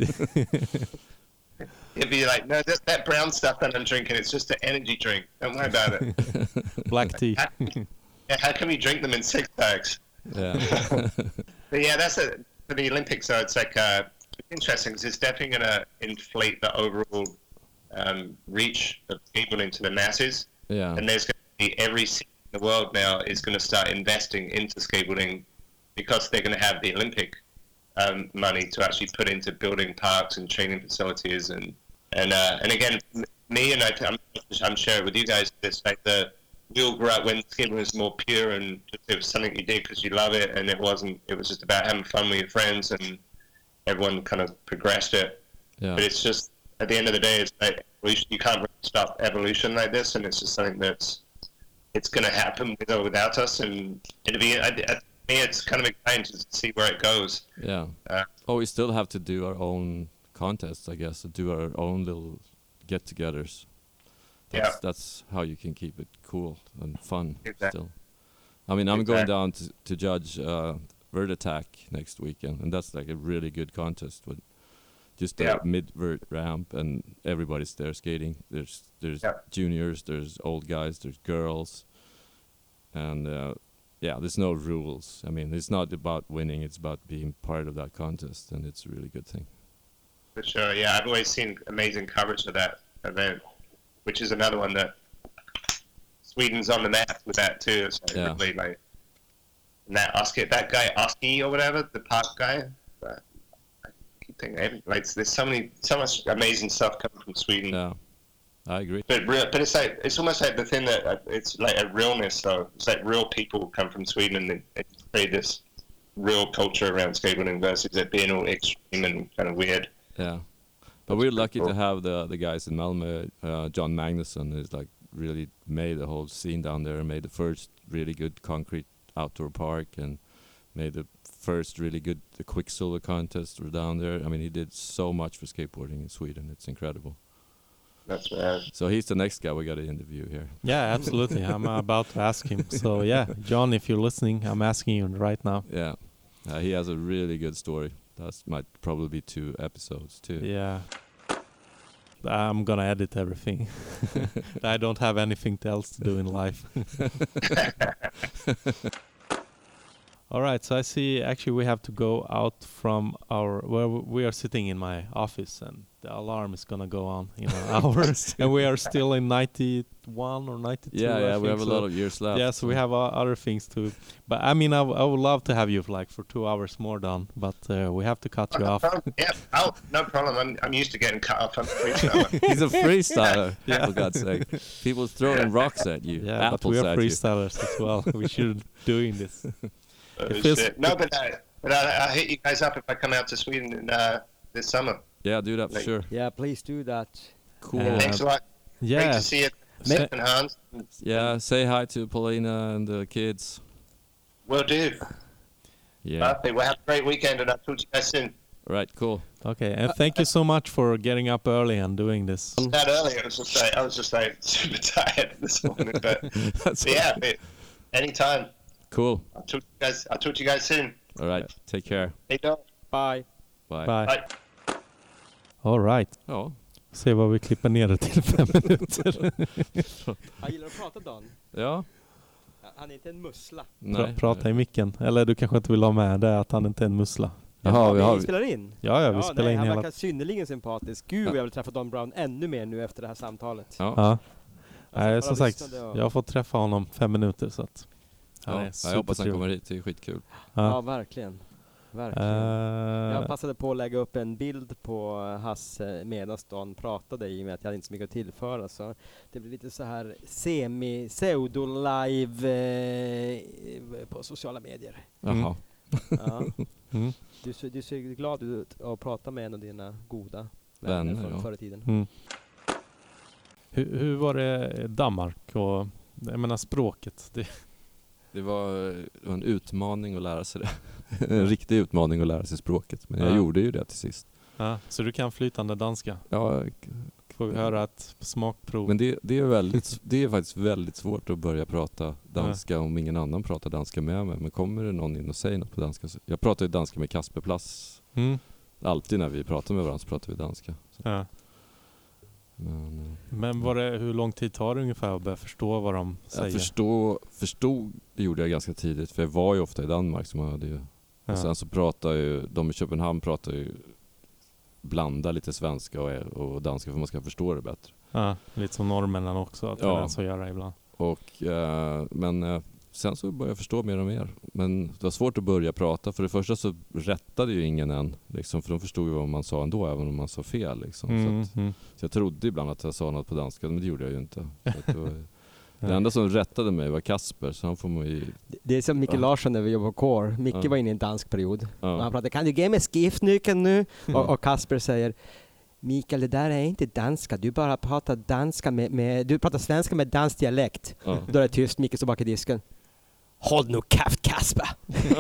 It'd be like, no, that brown stuff that I'm drinking, it's just an energy drink. Don't worry about it. Black tea. How can we drink them in 6-packs? Yeah. But yeah, for the Olympics, so it's like it's interesting because it's definitely going to inflate the overall reach of skateboarding to the masses. Yeah. And there's going to be every city in the world now is going to start investing into skateboarding because they're going to have the Olympic money to actually put into building parks and training facilities and again, me and I'm sharing with you guys this, like we all grew up when skateboarding was more pure and it was something you did because you love it, and it was just about having fun with your friends, and everyone kind of progressed it. Yeah. But it's just at the end of the day, it's like you can't really stop evolution like this, and it's just something it's going to happen with or without us, and it'll be. It's kind of exciting to see where it goes. Yeah. We still have to do our own contests, I guess, to do our own little get-togethers. That's how you can keep it cool and fun still. I mean, I'm going down to judge Vert Attack next weekend, and that's like a really good contest with just a mid-vert ramp, and everybody's there skating. There's juniors, there's old guys, there's girls, and there's no rules. I mean, it's not about winning, it's about being part of that contest, and it's a really good thing. For sure, yeah. I've always seen amazing coverage of that event, which is another one that Sweden's on the map with that too. So really, like, and that guy Oski or whatever, the park guy. I keep thinking, like, there's so much amazing stuff coming from Sweden. Yeah, I agree. But it's almost like the thing that it's like a realness though. It's like real people come from Sweden and they create this real culture around skateboarding versus it being all extreme and kind of weird. Yeah, but we're lucky to have the guys in Malmö. John Magnusson is like really made the whole scene down there, made the first really good concrete outdoor park, and made the first really good Quicksilver contest down there. I mean, he did so much for skateboarding in Sweden. It's incredible. That's right. So he's the next guy we got to interview here. Yeah, absolutely. I'm about to ask him. So yeah, John, if you're listening, I'm asking you right now. Yeah, he has a really good story. That might probably be 2 episodes too. Yeah. I'm gonna edit everything. I don't have anything else to do in life. All right, so I see actually we have to go out from where we are sitting in my office, and the alarm is gonna go on in an hour, and we are still in 91 or 92. Yeah, we have a lot of years left. Yeah, so we have other things to. But I mean, I would love to have you like for 2 hours more, Don. But we have to cut you off. Yeah, no problem. I'm used to getting cut off. I'm a freestyler. He's a freestyler. Yeah. For God's sake, people throwing rocks at you. Yeah, apples but we are at freestylers as well. We should doing this. No, but I'll hit you guys up if I come out to Sweden this summer. Yeah, do that for sure. Yeah, please do that. Cool. Thanks a lot. Yeah. Great to see you, Stefan Hans. Yeah, say hi to Paulina and the kids. Will do. Yeah. Okay, well, have a great weekend, and I'll talk to you guys soon. All right, cool. Okay, and thank you so much for getting up early and doing this. Not early. I was just like super tired this morning, but yeah, anytime. Cool. I'll talk to you guys soon. All right, take care. Hej då. Bye. Bye. Bye. All right. Ja. Se vad vi klipper ner det till 5 minuter. Jag gillar att prata, Dan. Ja. Han är inte en mussla. Prata i micken. Eller du kanske inte vill ha med det att han inte är en mussla. Jaha, vi spelar in. Ja, vi spelar in han hela. verkar synnerligen sympatisk. Gud, jag vill träffa Don Brown ännu mer nu efter det här samtalet. Ja. Nej, som sagt, och... jag har fått träffa honom 5 minuter så att jag hoppas han kommer hit, det är skitkul. Ja, verkligen. Jag passade på att lägga upp en bild på Hasse medan Don pratade, i och med att jag hade inte så mycket att tillföra, så det blir lite så här pseudo-live på sociala medier. Jaha. Ja. Du ser glad ut att prata med en av dina goda vänner från förr i tiden. Hur var det Danmark och jag menar språket? Det var en utmaning att lära sig det. En riktig utmaning att lära sig språket. Men jag gjorde ju det till sist. Ja, så du kan flytande danska? Ja. Får vi höra ett smakprov? Men det är faktiskt väldigt svårt att börja prata danska om ingen annan pratar danska med mig. Men kommer det någon in och säger något på danska? Jag pratar ju danska med Kasper Plass. Alltid när vi pratar med varandra så pratar vi danska. Ja. Men hur lång tid tar det ungefär att börja förstå vad de säger? Förstod det gjorde jag ganska tidigt, för jag var ju ofta i Danmark, så man hade ju, och sen så pratar ju de i Köpenhamn blanda lite svenska och danska för man ska förstå det bättre. Ja, lite som norrmännen också, att det så göra ibland. Men sen så började jag förstå mer och mer. Men det var svårt att börja prata. För det första så rättade ju ingen än. Liksom, för de förstod ju vad man sa ändå, även om man sa fel. Liksom. Så jag trodde ibland att jag sa något på danska, men det gjorde jag ju inte. Det enda som rättade mig var Kasper. Så han får man ju... Det är som Micke Larsson när vi jobbade på Core. Micke var inne i en dansk period. Och han pratade, kan du ge mig skiftnyckeln nu? Och Kasper säger... Mikael, det där är inte danska. Du bara pratar danska du pratar svenska med dansk dialekt. Då är det tyst. Mikael står bak i disken. Håll nu käft, Kasper!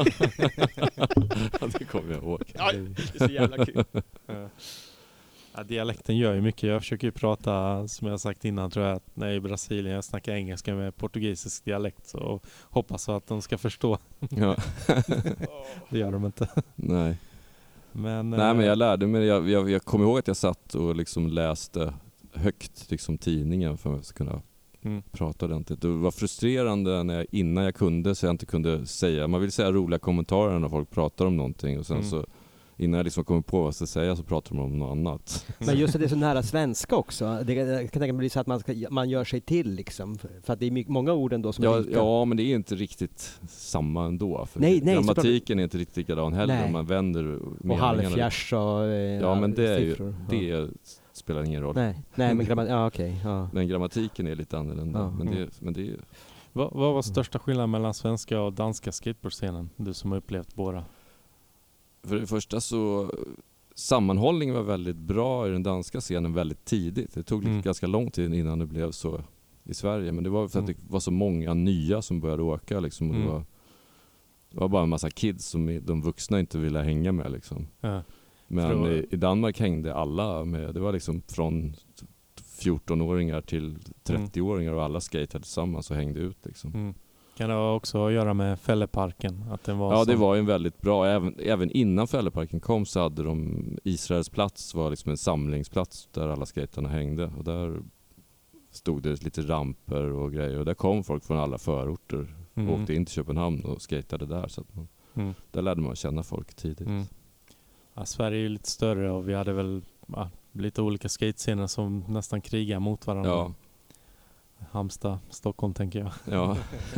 Det kommer jag ihåg. Ja, det är så jävla kul. Ja, dialekten gör ju mycket. Jag försöker ju prata, som jag sagt innan, tror jag, att när jag är i Brasilien jag snackar engelska med portugisisk dialekt och hoppas att de ska förstå. Ja. Det gör de inte. Nej. Men jag lärde mig. Jag kommer ihåg att jag satt och liksom läste högt liksom tidningen för att jag skulle kunna prata ordentligt. Det var frustrerande innan jag kunde, så jag inte kunde säga. Man vill säga roliga kommentarer när folk pratar om någonting och sen så innan jag liksom kommer på vad jag ska säga så pratar de om något annat. Men just att det är så nära svenska också. Det kan tänka mig bli så att man gör sig till liksom. För att det är många ord ändå som är lika. Ja, men det är inte riktigt samma ändå. För nej, grammatiken är inte riktigt likadan heller. Om man vänder meningarna. Och halvfjärs och ja, men det är ju, det spelar ingen roll. Nej men okej. Men grammatiken är lite annorlunda. Men det är Vad var största skillnaden mellan svenska och danska skateboardscenen? Du som har upplevt båda. För det första så sammanhållningen var väldigt bra i den danska scenen väldigt tidigt. Det tog ganska lång tid innan det blev så i Sverige. Men det var för att det var så många nya som började åka liksom. Och det var bara en massa kids som de vuxna inte ville hänga med liksom. Ja. Men i Danmark hängde alla med. Det var liksom från 14-åringar till 30-åringar och alla skatade tillsammans och hängde ut liksom. Kan det också göra med Fälleparken? Att den var det var ju en väldigt bra, även innan Fälleparken kom så hade de Israels plats var liksom en samlingsplats där alla skaterna hängde och där stod det lite ramper och grejer och där kom folk från alla förorter och åkte in till Köpenhamn och skatade där så att där lärde man känna folk tidigt. Ja, Sverige är ju lite större och vi hade väl lite olika skatescener som nästan krigar mot varandra. Ja. Halmstad, Stockholm tänker jag. Ja.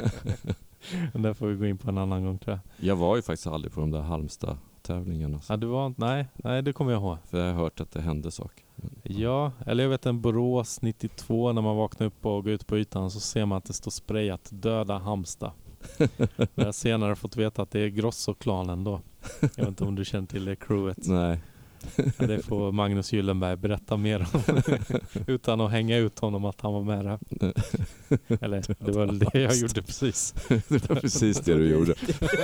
Men där får vi gå in på en annan gång tror jag. Jag var ju faktiskt aldrig på de där Halmstad-tävlingarna. Ja, du var nej, det kommer jag ihåg. För jag har hört att det hände saker. Ja, eller jag vet en Borås 92 när man vaknar upp och går ut på ytan så ser man att det står sprayat döda Halmstad. Jag har senare fått veta att det är Grosso-klanen då. Jag vet inte om du känner till det crewet. Nej. Det får Magnus Gyllenberg berätta mer om utan att hänga ut honom att han var med där. Eller det var det jag gjorde precis. Det var precis det du gjorde.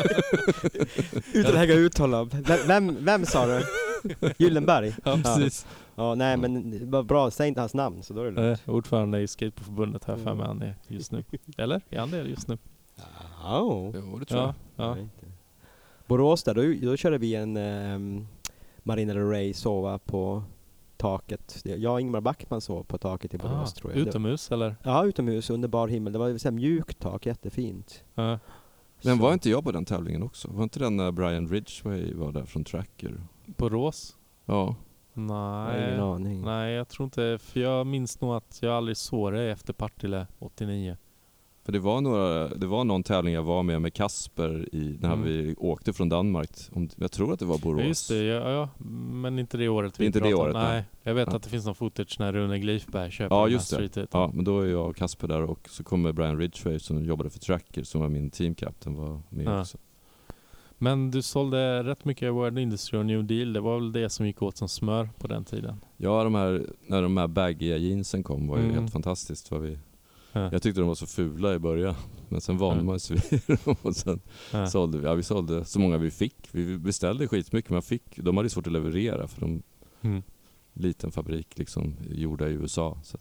Utan att hänga ut honom. Vem sa du? Gyllenberg? Ja, precis. Ja, nej men vad bra, säg inte hans namn så då är det lugnt. Ordförande i Skateboardförbundet här för mig han är just nu. Eller? Är han det just nu? Jo, det tror jag. Ja. Borås där, då körde vi en Marina Del Rey sova på taket. Jag och Ingmar Backman sov på taket i Borås tror jag. Utomhus eller? Ja, utomhus under bar himmel. Det var så här mjukt tak, jättefint. Ja. Men var inte jag på den tävlingen också? Var inte den när Brian Ridgway var där från Tracker? Borås? Ja. Nej, jag tror inte. För jag minns nog att jag aldrig såg det efter Partille 89. För det var någon tävling jag var med Kasper när vi åkte från Danmark. Jag tror att det var Borås. Just det, ja, men inte det året vi inte pratade. Det året, nej. Jag vet att det finns någon footage när Rune Glifberg köper den här street. Ja, men då är jag och Kasper där och så kommer Brian Ridgway som jobbade för Tracker som var min teamkapten var med också. Men du sålde rätt mycket World Industry och New Deal. Det var väl det som gick åt som smör på den tiden? Ja, när de här baggiga jeansen kom var ju helt fantastiskt. Jag tyckte de var så fula i början. Men sen vande man sig vid dem och sen sålde vi. Ja, vi sålde så många vi fick. Vi beställde skitmycket men de hade svårt att leverera för de liten fabrik liksom gjorda i USA. Så att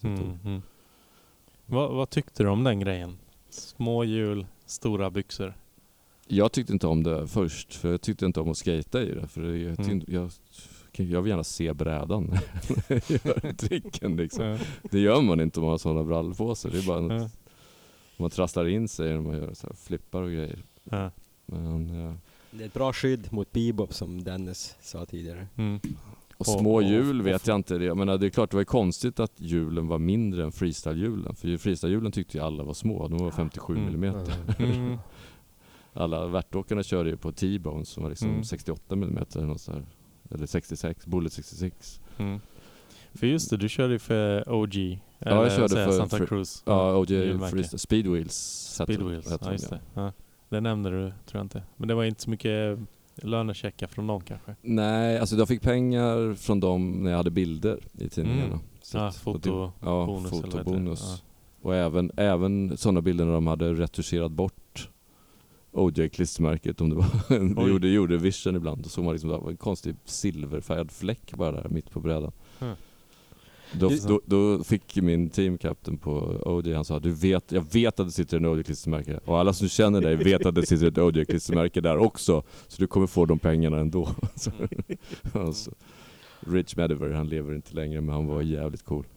Vad tyckte du om den grejen? Små hjul, stora byxor. Jag tyckte inte om det först. För jag tyckte inte om att skata i det. För jag vill gärna se brädan. Gör tricken liksom. Det gör man inte om man har sådana brallor på sig. Det är bara man trasslar in sig när man gör så här flippar och grejer. Men, det är ett bra skydd mot bebop som Dennis sa tidigare. Och små hjul vet jag inte. Jag menar, det är klart det var konstigt att hjulen var mindre än freestyle-hjulen. För freestyle-hjulen tyckte ju alla var små. De var 57 millimeter. Alla värtåkarna körde ju på T-bone som var liksom 68 millimeter eller 66, Bullet 66. För just det, du körde ju för OG. Ja, jag körde för Santa Cruz. Ja, OG Speedwheels. Speedwheels, ja just det. Ja. Det nämnde du, tror jag inte. Men det var inte så mycket lönechecka från dem kanske? Nej, alltså jag fick pengar från dem när jag hade bilder i tidningarna. Fotobonus. Och även sådana bilder när de hade retuscherat bort OJ-klistermärket om det var det gjorde Vision ibland och så var liksom det var en konstig silverfärgad fläck bara där mitt på brädan. Då fick min teamkapten på OJ, han sa jag vet att det sitter en OJ-klistermärke och alla som känner dig vet att det sitter ett OJ-klistermärke där också så du kommer få de pengarna ändå. Alltså, Rich Mediver, han lever inte längre men han var jävligt cool.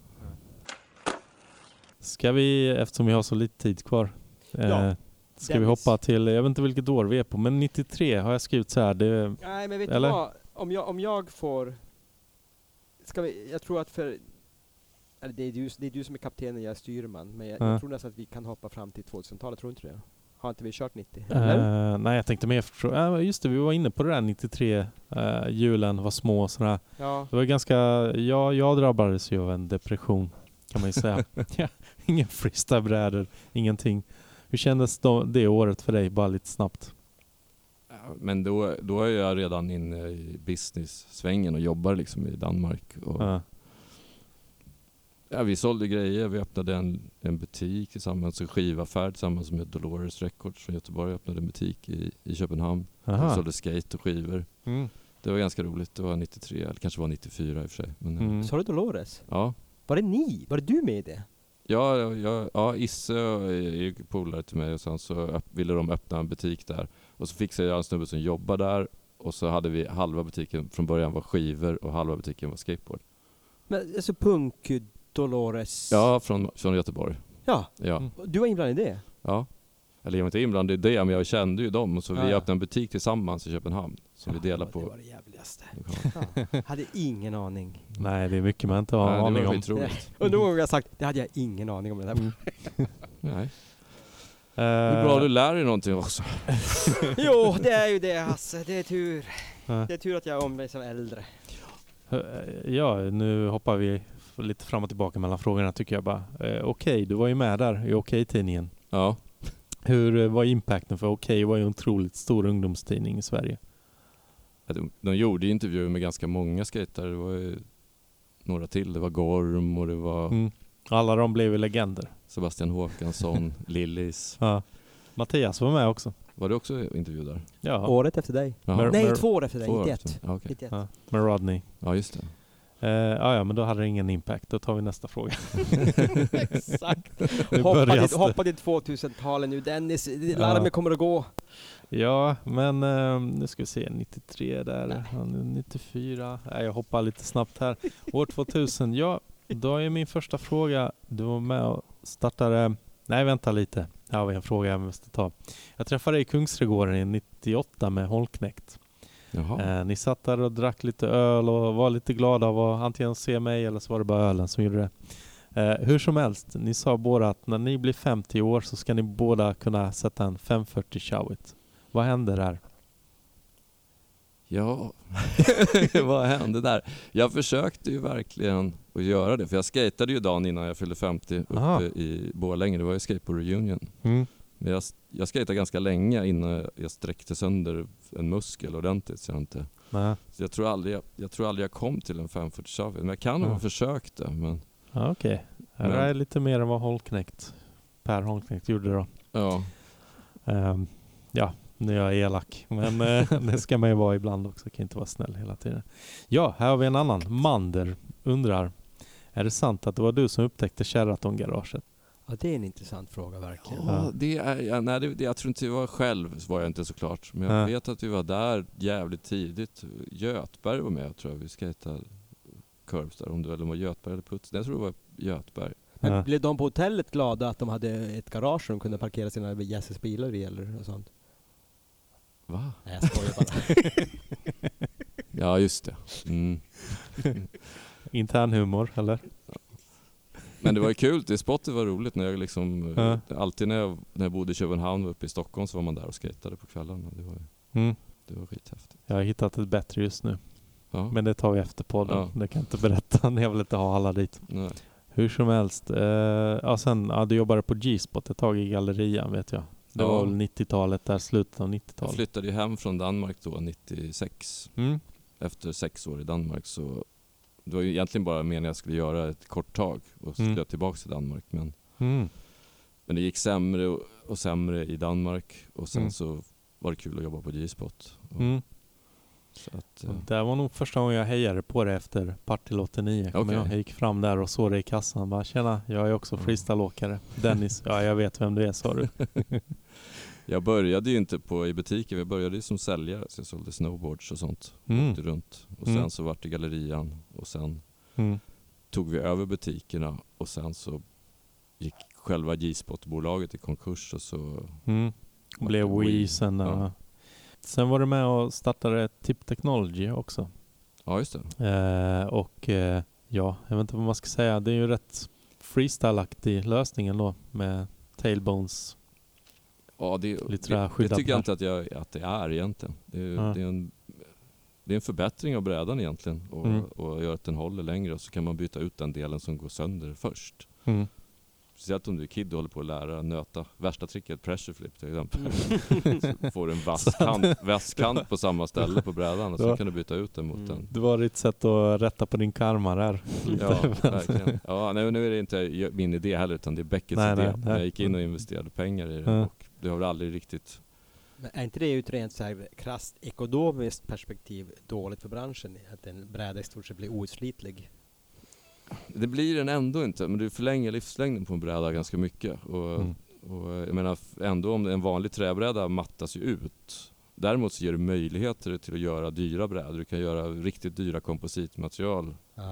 Ska vi, eftersom vi har så lite tid kvar ska vi hoppa till, jag vet inte vilket år vi är på, men 93 har jag skrivit så här. Nej, men vet du vad? om jag får... jag tror att eller det är du som är kapten och jag är styrman. Men jag tror nästan att vi kan hoppa fram till 2000-talet, tror inte det? Har inte vi kört 90? Nej, jag tänkte mer just det, vi var inne på det där 93 julen var små och sådär. Ja. Det var ganska, jag drabbades ju av en depression kan man ju säga. Ingen freestylebrädor, ingenting. Hur kändes det året för dig, bara lite snabbt? Men då är jag redan inne i business-svängen och jobbar liksom i Danmark. Och vi sålde grejer, vi öppnade en butik tillsammans, en skivaffär tillsammans med Dolores Records från Göteborg. öppnade en butik i Köpenhamn. Vi sålde skate och skivor. Det var ganska roligt, det var 93, eller kanske var 94 i och för sig. Men, Så du Dolores? Ja. Var det du med i det? Ja, Isse är ju polare till mig och sen så ville de öppna en butik där. Och så fixade jag en snubbe som jobbar där och så hade vi halva butiken från början var skivor och halva butiken var skateboard. Men alltså punk Dolores? Ja, från Göteborg. Ja. Du var inblandad i det? Ja. Eller jag var inte inblandad i det, men jag kände ju dem och så vi öppnade en butik tillsammans i Köpenhamn som vi delade på. Det var det jävligaste. Hade ingen aning. Nej, det är mycket man inte har aning om. Och någon gång har jag sagt, det hade jag ingen aning om det där. Nej. Det är bra att du lär dig någonting också. Jo, det är ju det, Hasse. Det är tur. Det är tur att jag är om mig som äldre. Ja, nu hoppar vi lite fram och tillbaka mellan frågorna tycker jag bara. Okej, du var ju med där i Okej-tidningen. Ja. Hur var impacten? För Okej var ju en otroligt stor ungdomstidning i Sverige. De gjorde intervjuer med ganska många skatare. Det var ju några till. Det var Gorm och det var... Alla de blev ju legender. Sebastian Håkansson, Lillis. Ja. Mattias var med också. Var du också intervju där? Ja. Året efter dig. Nej, 2 år efter dig. 91. Ja, okay. 91. Med Rodney. Ja, just det. Ja, men då hade det ingen impact. Då tar vi nästa fråga. Exakt. Hoppa till 2000-talet nu. Dennis, larmet kommer att gå. Ja, men nu ska vi se. 93 där. 94. Jag hoppar lite snabbt här. År 2000. Ja, då är min första fråga. Du var med och startade... Nej, vänta lite. Jag har en fråga jag måste ta. Jag träffade dig i Kungsträdgården i 98 med Holknekt. Ni satt där och drack lite öl och var lite glada av att antingen se mig eller så var det bara ölen som gjorde det. Hur som helst, ni sa båda att när ni blir 50 år så ska ni båda kunna sätta en 540 showit. Vad hände där? Ja, vad hände där? Jag försökte ju verkligen att göra det. För jag skatade ju dagen innan jag fyllde 50 uppe i Borlänge. Det var ju skateboard reunion. Men jag skatade ganska länge innan jag sträckte sönder en muskel ordentligt. Så jag tror aldrig jag kom till en 540 shove. Men jag kan ha försökt det. Men... Okej. Det är lite mer än vad Per Holknekt gjorde då. Ja. Ja, nu är jag elak. Men det ska man ju vara ibland också. Kan inte vara snäll hela tiden. Ja, här har vi en annan. Mander undrar. Är det sant att det var du som upptäckte Sheraton-garaget? Ja, det är en intressant fråga verkligen. Ja, jag tror inte jag var själv, var jag inte såklart. Men jag vet att vi var där jävligt tidigt. Götberg var med, tror jag. Vi skatade curves där. Om det var Götberg eller Puts. Jag tror det var Götberg. Men blev de på hotellet glada att de hade ett garage som de kunde parkera sina gästers bilar i eller något sånt? Va? Nej, jag skojar bara. Ja, just det. Intern humor, eller? Men det var ju kul, det spottet var roligt när jag liksom alltid när jag bodde i Köpenhamn och uppe i Stockholm så var man där och skatade på kvällarna. Det var skithäftigt. Jag har hittat ett bättre just nu. Ja. Men det tar vi efter podden. Ja. Det kan jag inte berätta. Jag vill inte ha alla dit. Nej. Hur som helst. Du jobbade på G-spot ett tag i gallerian, vet jag. Det var väl 90-talet, där slutet av 90-talet. Jag flyttade ju hem från Danmark då, 96. Efter 6 år i Danmark så det var ju egentligen bara meningen att jag skulle göra ett kort tag och skulle tillbaka till Danmark. Men det gick sämre och sämre i Danmark och sen så var det kul att jobba på G-spot. Så att, det var nog första gången jag hejade på det efter Partille 89. Okay. Jag gick fram där och såg det i kassan. Bara, tjena, jag är också freestyleåkare. Dennis, ja jag vet vem du är, sa du. Jag började ju inte i butiken. Jag började ju som säljare. Så jag sålde snowboards och sånt. Åkte runt. Och sen så vart det gallerian. Och sen tog vi över butikerna. Och sen så gick själva G-spot-bolaget i konkurs. Och så blev Wii sen. Sen var du med och startade Tip Technology också. Ja, just det. Ja, jag vet inte vad man ska säga. Det är ju rätt freestyle-aktig lösningen då med tailbones. Ja, det tycker jag inte att det är egentligen. Det är en förbättring av brädan egentligen och gör att den håller längre, och så kan man byta ut den delen som går sönder först. Speciellt om du är kid och håller på att lära nöta. Värsta tricket, pressure flip till exempel. Så får du en vass kant på samma ställe på brädan, och så kan du byta ut den mot den. Det var ditt sätt att rätta på din karma där. Ja, verkligen. Ja, nu är det inte min idé heller, utan det är Beckets idé. Jag gick in och investerade pengar i det, och det har väl aldrig riktigt... Men är inte det ur ett rent så här krasst ekonomiskt perspektiv dåligt för branschen? Att en bräda i stort sett blir outslitlig? Det blir den ändå inte, men du förlänger livslängden på en bräda ganska mycket. Och jag menar, ändå om en vanlig träbräda mattas ju ut. Däremot så ger det möjligheter till att göra dyra brädor. Du kan göra riktigt dyra kompositmaterial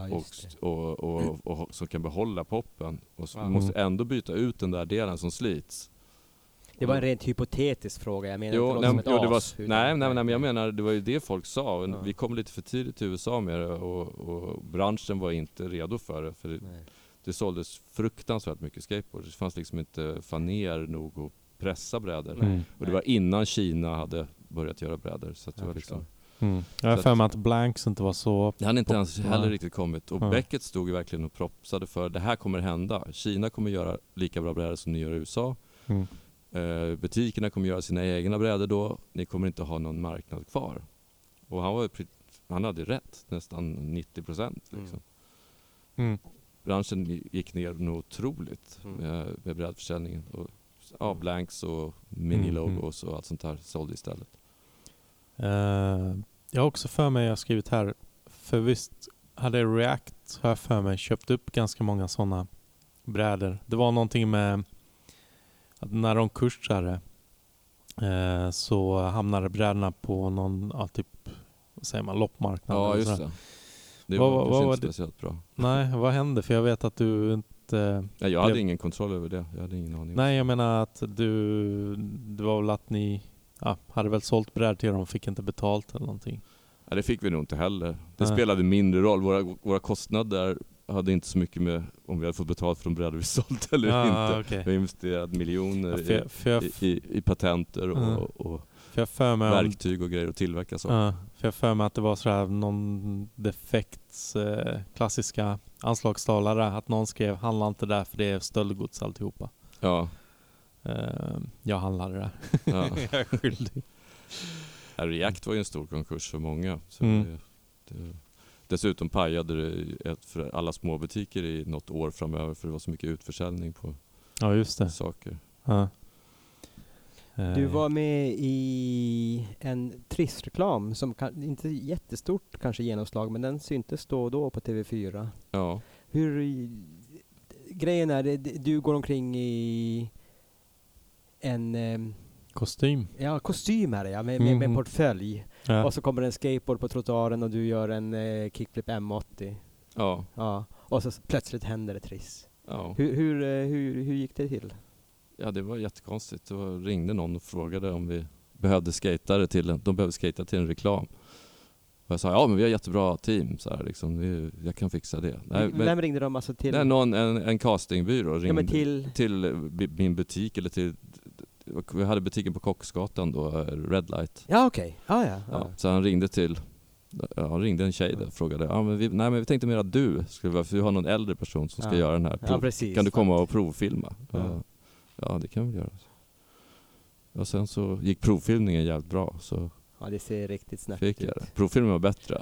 och som kan behålla poppen. Och så måste ändå byta ut den där delen som slits. Det var en rent hypotetisk fråga. Jag menar men jag menar, det var ju det folk sa. Vi kom lite för tidigt till USA med det, och branschen var inte redo för det. För det såldes fruktansvärt mycket skateboard. Det fanns liksom inte faner nog att pressa brädor. Och det var innan Kina hade börjat göra brädor. Så att det var liksom... Jag har för mig att Blanks inte var så... Det hade inte ens heller riktigt kommit. Och Beckett stod ju verkligen och propsade för det här kommer hända. Kina kommer göra lika bra brädor som ni gör i USA. Butikerna kommer göra sina egna brädor då. Ni kommer inte ha någon marknad kvar. Och han hade rätt. Nästan 90% liksom. Branschen gick ner nog otroligt med brädförsäljningen. Och Blanks och mini-logos och allt sånt där sålde istället. Jag har också för mig, jag har skrivit här, för visst hade React, har jag för mig, köpt upp ganska många sådana brädor. Det var någonting med att när de kursade så hamnade brädorna på någon typ, vad säger man, loppmarknad. Ja, just det. Det var inte speciellt bra. Nej, vad hände? För jag vet att du inte... Nej, jag hade ingen kontroll över det. Jag hade ingen aning. Nej, jag menar att det var väl att ni hade väl sålt brädor till dem och fick inte betalt eller någonting. Ja, det fick vi nog inte heller. Det spelade mindre roll. Våra kostnader hade inte så mycket med om vi hade fått betalt för de brädor vi sålt eller inte. Okay. Vi har investerat miljoner i patenter och verktyg och grejer att tillverka så. För jag för mig att det var sådär någon defekts klassiska anslagstalare, att någon skrev handla inte där för det är stöldgods alltihopa. Ja. Jag handlade där. Ja. Jag är skyldig. React var ju en stor konkurs för många. Så dessutom pajade det för alla små butiker i något år framöver, för det var så mycket utförsäljning på saker. Ja. Du var med i en Triss-reklam som inte jättestort kanske genomslag, men den syntes då på TV4. Ja. Grejen är, du går omkring i en... kostym. Ja, kostym är det, ja, med portfölj. Ja. Och så kommer en skateboard på trottoaren och du gör en kickflip M80. Ja. Och så plötsligt händer det Triss. Ja. Hur gick det till? Ja, det var jättekonstigt. Då ringde någon och frågade om vi behövde skatare de behövde skata till en reklam. Och jag sa, men vi har jättebra team. Så här, liksom, jag kan fixa det. Vem ringde de alltså till? En castingbyrå ringde till min butik, eller till... Vi hade butiken på Kocksgatan då, Red Light. Ja, okej. Ja. Så han ringde ringde en tjej där och frågade, men vi tänkte mer att du vi har någon äldre person som ska göra den här precis, kan du komma och provfilma? Ja, det kan vi göra. Och sen så gick provfilmningen jävligt bra, så det ser riktigt snabbt ut. Provfilmen var bättre.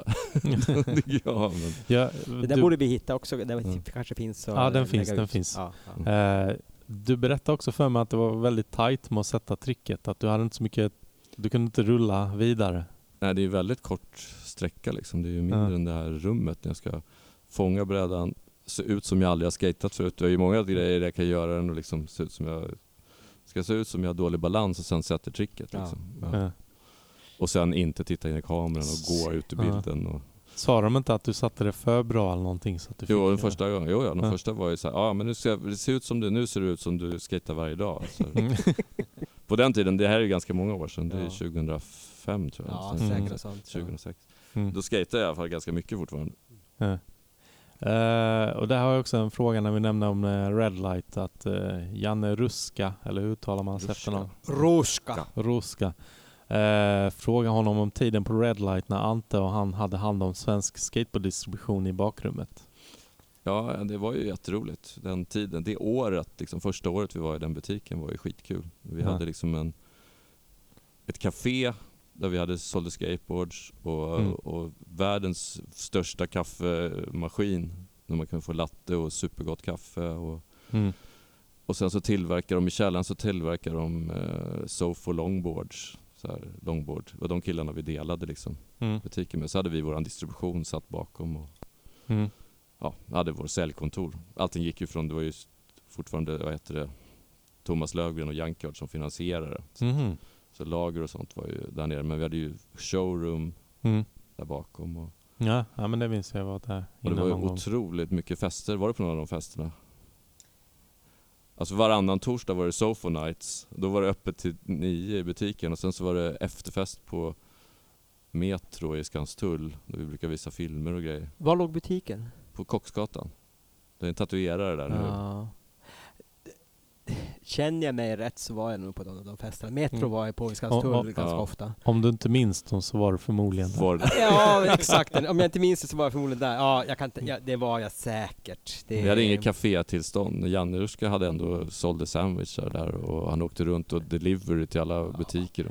Det där borde vi hitta också. Det kanske finns så. Ja, den finns. Du berättade också för mig att det var väldigt tajt med att sätta tricket, att du hade inte så mycket, du kunde inte rulla vidare. Nej, det är väldigt kort sträcka liksom. Det är ju mindre än det här rummet när jag ska fånga brädan, se ut som jag aldrig har skatat förut. Det är ju många grejer jag kan göra den och liksom se ut som jag har dålig balans och sen sätter tricket liksom. Ja. Och sen inte titta in i kameran och gå ut i bilden och... Sa de inte att du satte det för bra eller någonting så att du den första gången. Den första var ju så här, men nu ser det ut som du skatar varje dag. Så. På den tiden, det här är ju ganska många år sedan, det är 2005 tror jag. Ja, säkert sånt. 2006. Då skatade jag i alla fall ganska mycket fortfarande. Ja. Och där har jag också en fråga när vi nämnde om Red Light, att Janne Ruska, eller hur uttalar man hans efternamn? Ruska. Fråga honom om tiden på Red Light när Ante och han hade hand om svensk skateboarddistribution i bakrummet. Ja, det var ju jätteroligt den tiden. Det året, liksom första året vi var i den butiken var ju skitkul. Vi hade liksom ett café där vi sålde skateboards och världens största kaffemaskin där man kunde få latte och supergott kaffe och sen så tillverkar de i källaren Sofo longboards, så här longboard. Det var de killarna vi delade liksom butiken med. Så hade vi våran distribution satt bakom och hade vår säljkontor. Allting gick ju från, det var ju fortfarande Thomas Löfgren och Junkyard som finansierade. Så lager och sånt var ju där nere. Men vi hade ju showroom där bakom. Ja, men det minns jag var där. Och det var ju otroligt mycket fester. Var det på några av de festerna? Alltså varannan torsdag var det Sofo Nights. Då var det öppet till 9 i butiken. Och sen så var det efterfest på Metro i Skanstull. Där vi brukar visa filmer och grejer. Var låg butiken? På Kocksgatan. Det är en tatuerare där nu. Känner jag mig rätt så var jag nog på de festerna. Metro var jag på i Skanstull ganska ofta. Om du inte minns dem så var du förmodligen där. Ja, exakt. Om jag inte minns det så var jag förmodligen där. Ja, jag kan inte, det var jag säkert. Vi hade inget kafétillstånd. Janne Ruska hade ändå sålde sandwichar där och han åkte runt och delivery till alla butiker.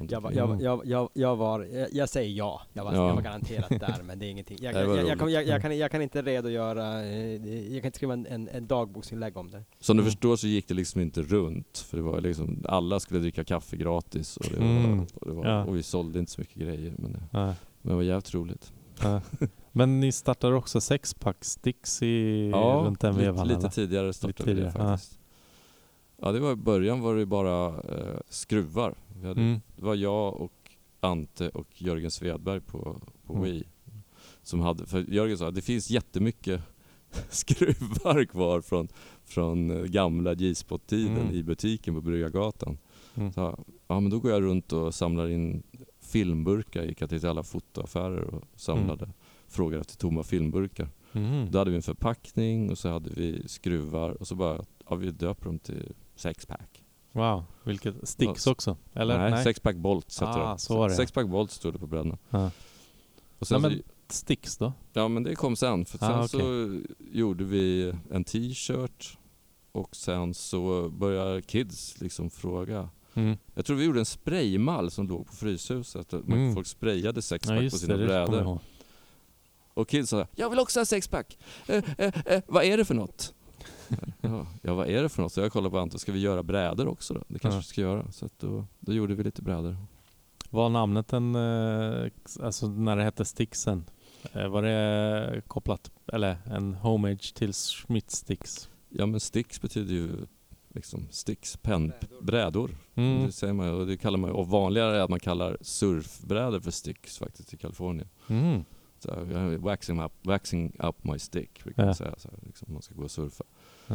Jag säger ja. Jag var garanterat där, men det är ingenting. Jag kan inte redogöra. Jag kan inte skriva en dagboksinlägg om det. Som du förstår så gick det liksom inte runt, för det var liksom alla skulle dricka kaffe gratis och och vi sålde inte så mycket grejer, men det var jävligt roligt. Men ni startade också 6-pack Sticks runt den vevan? Lite tidigare startade vi faktiskt. Ja, det var i början var det bara skruvar. Det var jag och Ante och Jörgen Svedberg på Wii som hade, för Jörgen sa att det finns jättemycket skruvar kvar från gamla G-spot-tiden i butiken på Bryggargatan. Så, men då går jag runt och samlar in filmburkar, gick till alla fotoaffärer och samlade frågor efter tomma filmburkar. Då hade vi en förpackning och så hade vi skruvar och så bara vi döper dem till 6-pack. Wow, vilket Sticks också? Eller? Nej, 6-pack Bolts heter det. 6-pack Bolts stod det på brädan. Och sen Sticks då? Ja, men det kom sen. För sen så gjorde vi en t-shirt och sen så började kids liksom fråga. Jag tror vi gjorde en spraymall som låg på Fryshuset. Folk sprayade 6-pack på sina brädor. Och kids sa, jag vill också ha 6-pack. Vad är det för något? Vad är det för något? Så jag kollade på Anton, ska vi göra brädor också då? Det kanske vi ska göra. Så att då gjorde vi lite brädor. Var namnet alltså när det hette Sticksen? Var det kopplat, eller en homage till Schmidt Sticks? Ja, men Sticks betyder ju liksom sticks, pennbrädor. Det säger man, och det kallar man, och vanligare är att man kallar surfbrädor för sticks faktiskt i Kalifornien. Så waxing up my stick brukar man säga så här, liksom man ska gå och surfa.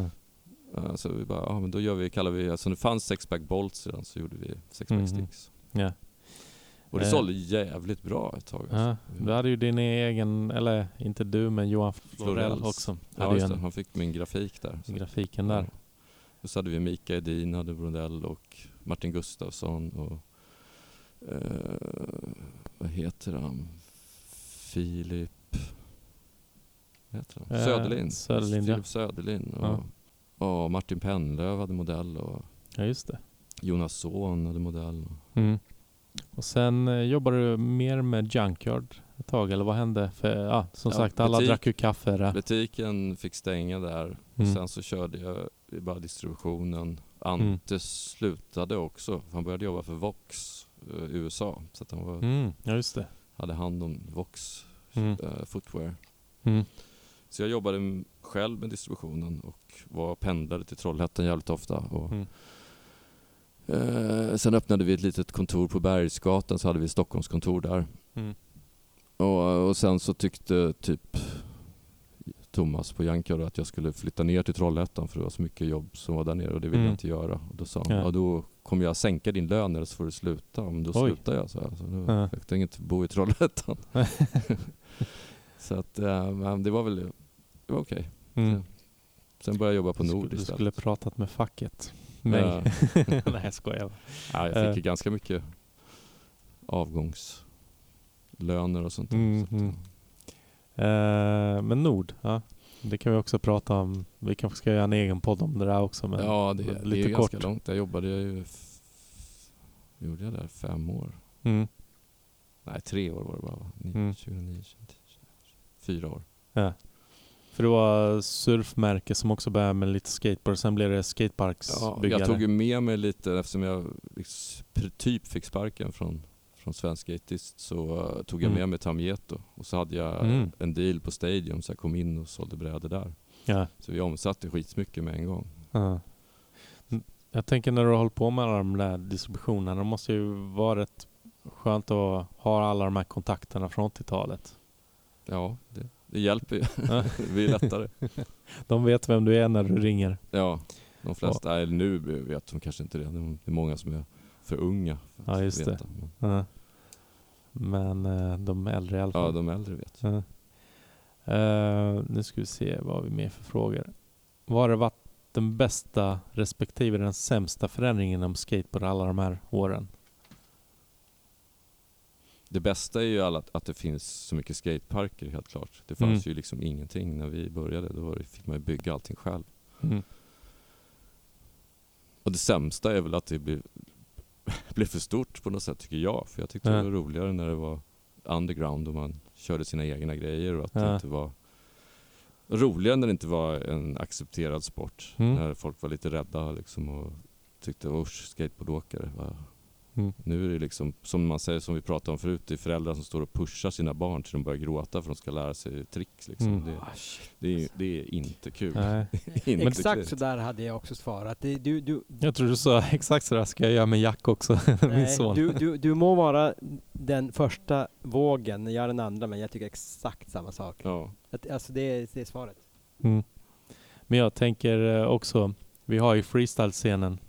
Så vi bara, men då kallar vi, alltså det fanns 6-pack Bolts redan, så gjorde vi 6-pack Sticks. Ja. Och det sålde jävligt bra ett tag. Alltså. Du hade ju din egen, eller inte du, men Johan Florell också. Ja, just det. Han fick min grafik där. Grafiken där. Och så hade vi Mika Edin, hade Brundell och Martin Gustafsson och vad heter han? Filip Söderlind. Filip Söderlind och Martin Pennlöv hade modell och just det. Jonas Sohn hade modell. Och sen jobbade du mer med Junkyard ett tag, eller vad hände? För som sagt, alla drack ju kaffe där. Butiken fick stänga där. Och sen så körde jag bara distributionen. Ante slutade också. Han började jobba för Vox USA. Så att han var, ja, just det. Hade hand om Vox footwear. Så jag jobbade själv med distributionen och pendlade till Trollhättan jävligt ofta. Och sen öppnade vi ett litet kontor på Bergsgatan, så hade vi Stockholmskontor där. Och sen så tyckte Thomas på Jankar att jag skulle flytta ner till Trollhättan för det var så mycket jobb som var där nere och det ville jag inte göra. Och då sa han, då kommer jag sänka din lön eller så får du sluta. Om då slutar jag så då fick jag inte bo i Trollhättan. Så att det var väl okej. Sen började jag jobba på Nord istället. Du skulle pratat med facket. Nej, jag skojar. Ja, jag fick ganska mycket avgångslöner och sånt. Men Nord, det kan vi också prata om. Vi kanske ska göra en egen podd om det där också. Men det är kort. Ganska långt. Jag jobbade gjorde jag där 5 år. Nej, 3 år var det bara. 2009, 4 år. Ja. För det var surfmärke som också började med lite skateboard. Sen blev det skateparksbyggare. Jag tog ju med mig lite eftersom jag typ fick sparken från Svensk Skatist, så tog jag med mig Tamieto. Och så hade jag en deal på Stadium så jag kom in och sålde brädor där. Ja. Så vi omsatte skitmycket med en gång. Ja. Jag tänker när du håller på med alla de där distributionerna, det måste ju vara rätt skönt att ha alla de här kontakterna från 80-talet. Ja, det hjälper ju. Det blir lättare. De vet vem du är när du ringer. Ja, de flesta nu vet de kanske inte det. Det är många som är för unga för att just veta. Det. Men de äldre i alla fall. Ja, de äldre vet. Nu ska vi se vad vi med för frågor. Vad har det varit den bästa respektive den sämsta förändringen inom skateboard alla de här åren? Det bästa är ju att det finns så mycket skateparker, helt klart. Det fanns ju liksom ingenting när vi började. Då fick man ju bygga allting själv. Och det sämsta är väl att det blev för stort på något sätt, tycker jag. För jag tyckte det var roligare när det var underground och man körde sina egna grejer. Och att det inte var roligare när det inte var en accepterad sport. När folk var lite rädda liksom och tyckte, skateboardåkare. Nu är det liksom, som man säger, som vi pratade om förut, det är föräldrar som står och pushar sina barn till de börjar gråta för att de ska lära sig tricks. Liksom. Det är inte kul. Inte exakt så där hade jag också svarat. Jag tror du sa exakt så där ska jag göra med Jack också. Min son. Du må vara den första vågen, jag är den andra, men jag tycker exakt samma sak. Ja. Alltså det är svaret. Men jag tänker också, vi har ju freestyle-scenen.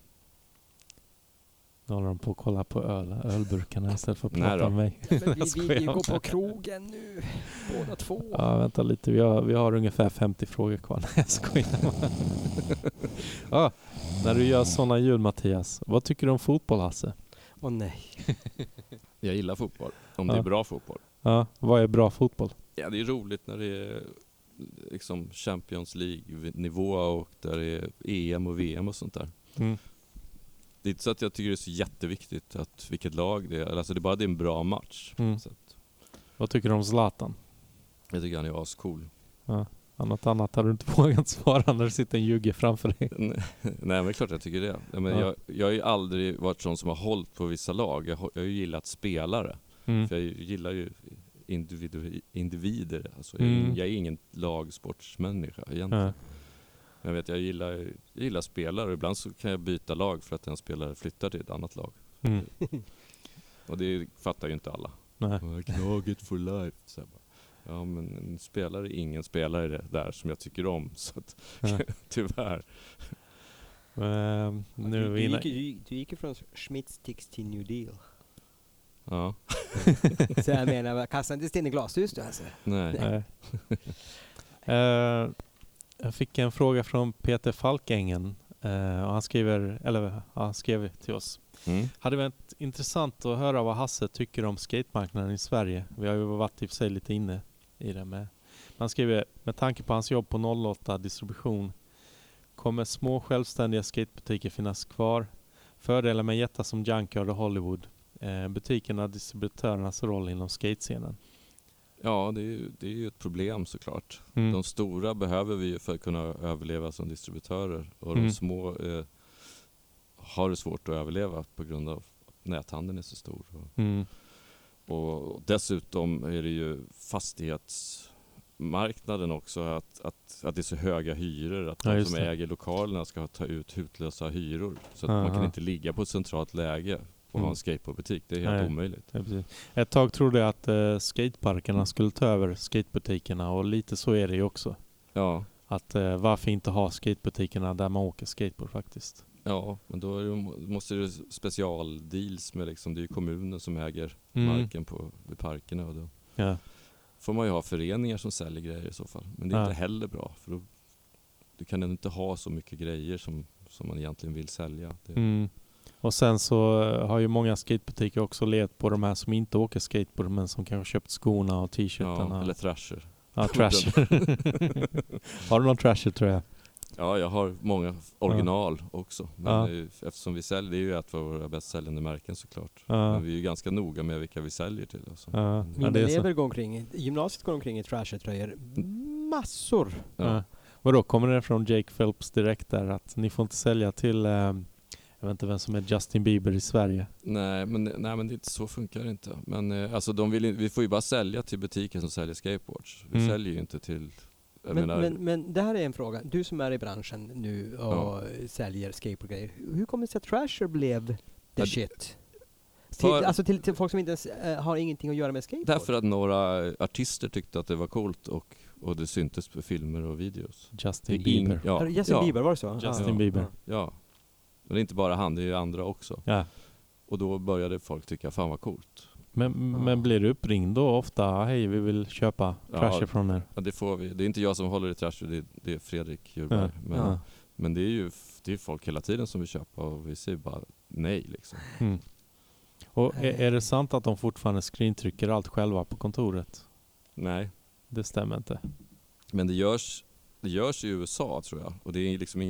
Nu håller de på att kolla på ölburkarna istället för att prata om mig. Vi går på krogen nu, båda två. Ja, vänta lite. Vi har ungefär 50 frågor kvar. Jag skojar. När du gör sådana ljud, Mattias, vad tycker du om fotboll, Hasse? Nej. Jag gillar fotboll, om det är bra fotboll. Ja, vad är bra fotboll? Ja, det är roligt när det är liksom Champions League-nivå och där det är EM och VM och sånt där. Det är inte så att jag tycker det är så jätteviktigt att vilket lag det är. Alltså det är en bra match. Så att. Vad tycker du om Zlatan? Jag tycker han är ascool. Ja. Något annat hade du inte vågat svara när det sitter en jugge framför dig. Nej, men klart jag tycker det. Jag har ju aldrig varit sån som har hållit på vissa lag. Jag har ju gillat spelare. För jag gillar ju individer. Alltså, jag är ingen lagsportsmänniska egentligen. Men jag gillar spelare och ibland så kan jag byta lag för att en spelare flyttar till ett annat lag. Och det fattar ju inte alla. Laget for life. Så ja, men en spelare är ingen spelare där som jag tycker om. Så att, tyvärr. Du gick ju från Schmitz till New Deal. Ja. Så jag menar, kastar inte sten i glashus du alltså? Nej. Jag fick en fråga från Peter Falkängen och han skrev till oss. Hade varit intressant att höra vad Hasse tycker om skatemarknaden i Sverige. Vi har ju varit i och för sig lite inne i det med. Han skriver, med tanke på hans jobb på 08 distribution kommer små självständiga skatebutiker finnas kvar. Fördelar med jättar som Junkyard och Hollywood. Butikerna och distributörernas roll inom skatescenen. Ja, det är ju ett problem såklart. De stora behöver vi ju för att kunna överleva som distributörer. Och de små har det svårt att överleva på grund av att näthandeln är så stor. Och dessutom är det ju fastighetsmarknaden också att det är så höga hyror. Att de som äger lokalerna ska ta ut hutlösa hyror. Så att man kan inte ligga på ett centralt läge och ha en skateboardbutik. Det är helt omöjligt. Ja, ett tag trodde jag att skateparkerna skulle ta över skatebutikerna och lite så är det ju också. Ja. Att varför inte ha skatebutikerna där man åker skateboard faktiskt. Ja, men då måste det specialdeals med liksom, det är ju kommunen som äger marken vid parkerna och då får man ju ha föreningar som säljer grejer i så fall. Men det är inte heller bra för då du kan inte ha så mycket grejer som man egentligen vill sälja. Och sen så har ju många skatebutiker också levt på de här som inte åker skateboard men som kanske köpt skorna och t-shirtarna. Ja, eller Thrasher. Ja, Thrasher. Har du någon Thrasher tror jag? Ja, jag har många original också. Men eftersom vi säljer, det är ju ett av våra bäst säljande märken såklart. Men vi är ju ganska noga med vilka vi säljer till. Alltså. Mina elever går omkring, gymnasiet går omkring i Thrasher-tröjor. Massor! Och då kommer det från Jake Phelps direkt där att ni får inte sälja till jag vet inte vem som är Justin Bieber i Sverige. Nej, men det är inte så funkar det inte. Men alltså vi får ju bara sälja till butiker som säljer skateboards. Vi säljer ju inte till men det här är en fråga. Du som är i branschen nu och säljer skateboardgrejer. Hur kommer det sig att Thrasher blev the shit? Till folk som inte ens har ingenting att göra med skateboard? Därför att några artister tyckte att det var coolt och det syntes på filmer och videos. Justin Bieber. Justin Bieber, var det så? Justin Bieber. Ja. Men det är inte bara han, det är andra också. Ja. Och då började folk tycka, fan vad coolt. Men blir du uppringd då ofta? Hej, vi vill köpa Thrasher från er. Ja, det får vi. Det är inte jag som håller i Thrasher, det är Fredrik Djurberg. Men det är folk hela tiden som vill köpa och vi säger bara nej liksom. Och är det sant att de fortfarande screentrycker allt själva på kontoret? Nej. Det stämmer inte. Men det görs i USA tror jag. Och det är liksom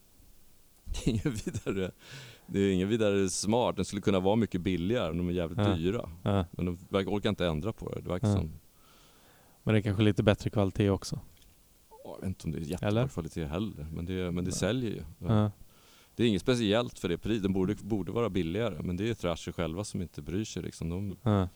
det är inget vidare smart. Den skulle kunna vara mycket billigare. De är jävligt dyra. Men de orkar inte ändra på det. Det verkar som... Men det är kanske lite bättre kvalitet också. Jag vet inte om det är jättebra kvalitet heller. Men det säljer ju. Det är inget speciellt för det pris. Den borde vara billigare. Men det är Thrasher själva som inte bryr sig. Liksom.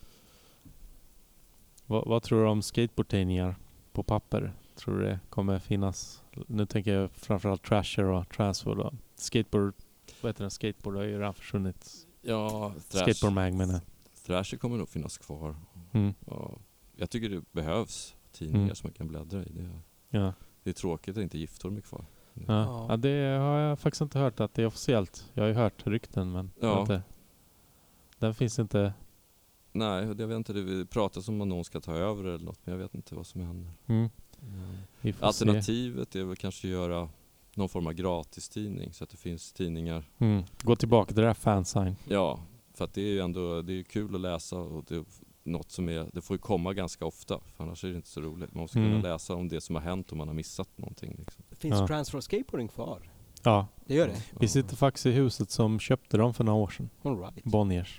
Vad tror du om skateboardtidningar på papper? Tror du det kommer finnas? Nu tänker jag framförallt Thrasher och Transfer då. Skateboard, vad heter den? Skateboard har ju redan försvunnit. Ja, Skateboard Mag menar jag. Thrasher kommer nog finnas kvar. Ja, jag tycker det behövs tidningar som man kan bläddra i. Det är tråkigt att inte Giftorm är kvar. Ja, det har jag faktiskt inte hört att det är officiellt. Jag har ju hört rykten men inte. Den finns inte. Nej, jag vet inte. Det pratas om att någon ska ta över eller något, men jag vet inte vad som händer. Alternativet är väl kanske göra någon form av gratistidning så att det finns tidningar. Gå tillbaka till det där fansign. Ja, för att det är ju ändå det är kul att läsa och det är något som det får ju komma ganska ofta för annars är det inte så roligt. Man måste kunna läsa om det som har hänt om man har missat någonting. Liksom. Finns Transfer Skateboarding kvar? Ja, det gör det. Vi sitter faktiskt i huset som köpte dem för några år sedan. All right. Bonniers.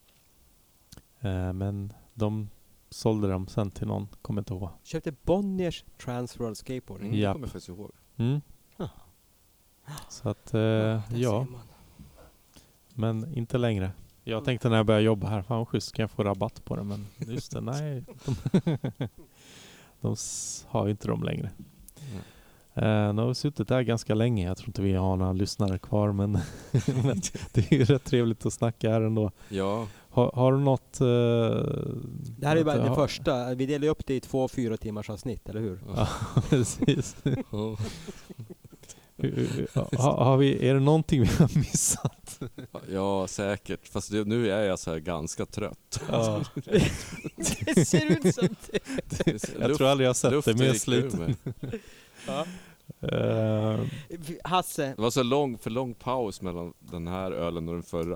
Men de sålde dem sen till någon, kommer inte ihåg. Köpte Bonniers Transworld Skateboarding? Det kommer jag faktiskt ihåg. Så att, men inte längre. Jag tänkte när jag började jobba här, fan schysst, kan jag få rabatt på det? Men just det, nej. De har ju inte dem längre. Nu har vi suttit där ganska länge. Jag tror inte vi har några lyssnare kvar, men det är ju rätt trevligt att snacka här ändå. Ja. Har du något... det här är bara det första. Vi delar upp det i 2 4 timmars avsnitt, eller hur? Ja, precis. Är det någonting vi har missat? Ja, säkert. Fast nu är jag så här ganska trött. Ja. Det ser ut som det. Jag tror aldrig jag har sett det mer sliten. Hasse. Det var så för lång paus mellan den här ölen och den förra.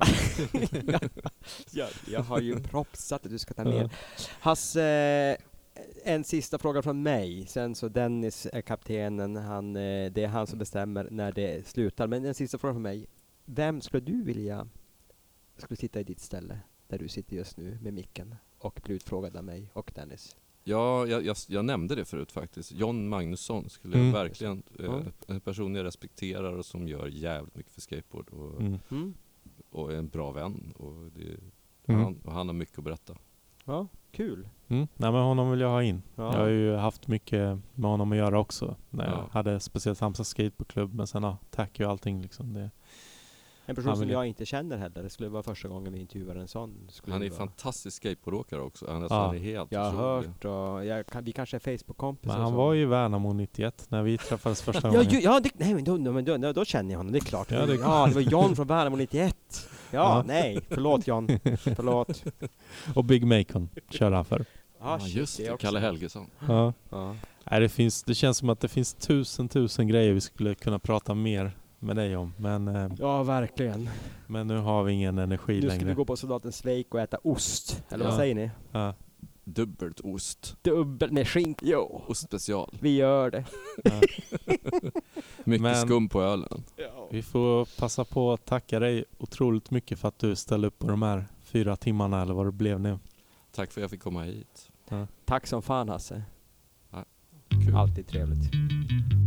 Jag har ju propsat att du ska ta med. Hasse, en sista fråga från mig. Sen så Dennis är kaptenen. Det är han som bestämmer när det slutar. Men en sista fråga från mig. Vem skulle du vilja sitta i ditt ställe där du sitter just nu med micken och bli utfrågad av mig och Dennis? Ja, jag nämnde det förut faktiskt. John Magnusson skulle jag verkligen... en person jag respekterar och som gör jävligt mycket för skateboard. Och är en bra vän. Och han har mycket att berätta. Ja, kul. Nej, men honom vill jag ha in. Ja. Jag har ju haft mycket med honom att göra också. När jag hade speciellt Halmstad skateboardklubb. Men sen tack och allting liksom. En person som jag inte känner heller. Det skulle vara första gången vi intervjuar en sån. Han är fantastisk skateboardåkare också. Han är helt jag har otrolig. hört och vi kanske är Facebook-kompisar. Men han var ju i Värnamo 91 när vi träffades första gången. Då känner jag honom, det är klart. Det var John från Värnamo 91. Förlåt John. Förlåt. Och Big Macon kör han för. Just det, Kalle Helgesson. Ja. Nej, det känns som att det finns tusen grejer vi skulle kunna prata mer med dig om. Men, ja, verkligen. Men nu har vi ingen energi längre. Nu ska vi gå på Soldaten Svejk och äta ost. Eller vad säger ni? Ja. Dubbelt ost. Dubbelt med skink. Jo. Ostspecial. Vi gör det. Mycket skum på ölen. Ja. Vi får passa på att tacka dig otroligt mycket för att du ställde upp på de här 4 timmarna eller vad det blev nu. Tack för att jag fick komma hit. Ja. Tack som fan, Hasse. Ja, kul. Alltid trevligt.